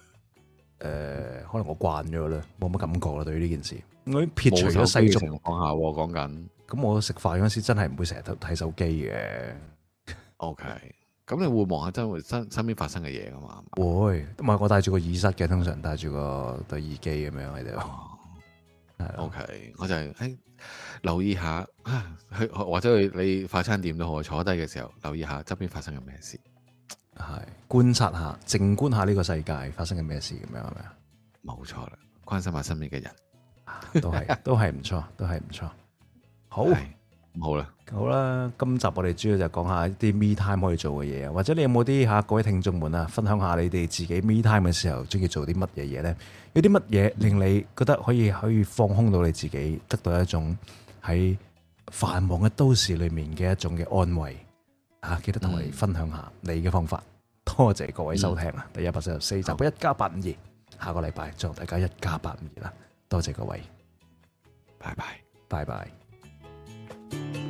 A: 可能我慣咗啦，冇乜感覺啦。對於呢件事，我已經撇除咗世俗情況下講緊。咁我食飯嗰時真係唔會成日睇手機嘅。OK，咁你會望下真會身邊發生嘅嘢噶嘛？會，唔係我戴住個耳塞嘅，通常戴住個對耳機咁樣喺度。OK，我就係留意下或者你快餐店都好，坐低嘅時候留意下側邊發生緊咩事。係觀察下，靜觀下呢個世界發生緊咩事咁樣，係咪啊？冇錯啦，關心下身邊嘅人，都係唔錯，都係唔錯。好，
C: 好啦，
A: 好啦，今集我哋主要就講下啲 me time 可以做嘅嘢啊，或者你有冇啲各位聽眾們啊，分享下你哋自己 me time 嘅時候中意做啲乜嘢嘢咧？有啲乜嘢令你覺得可以放空到你自己，得到一種喺繁忙嘅都市裏面嘅一種嘅安慰啊！記得同我哋分享下你嘅方法。多謝各位收聽啊！第144集嘅1+852，下個禮拜再同大家1+852啦！多謝各位，
C: 拜拜，
A: 拜拜。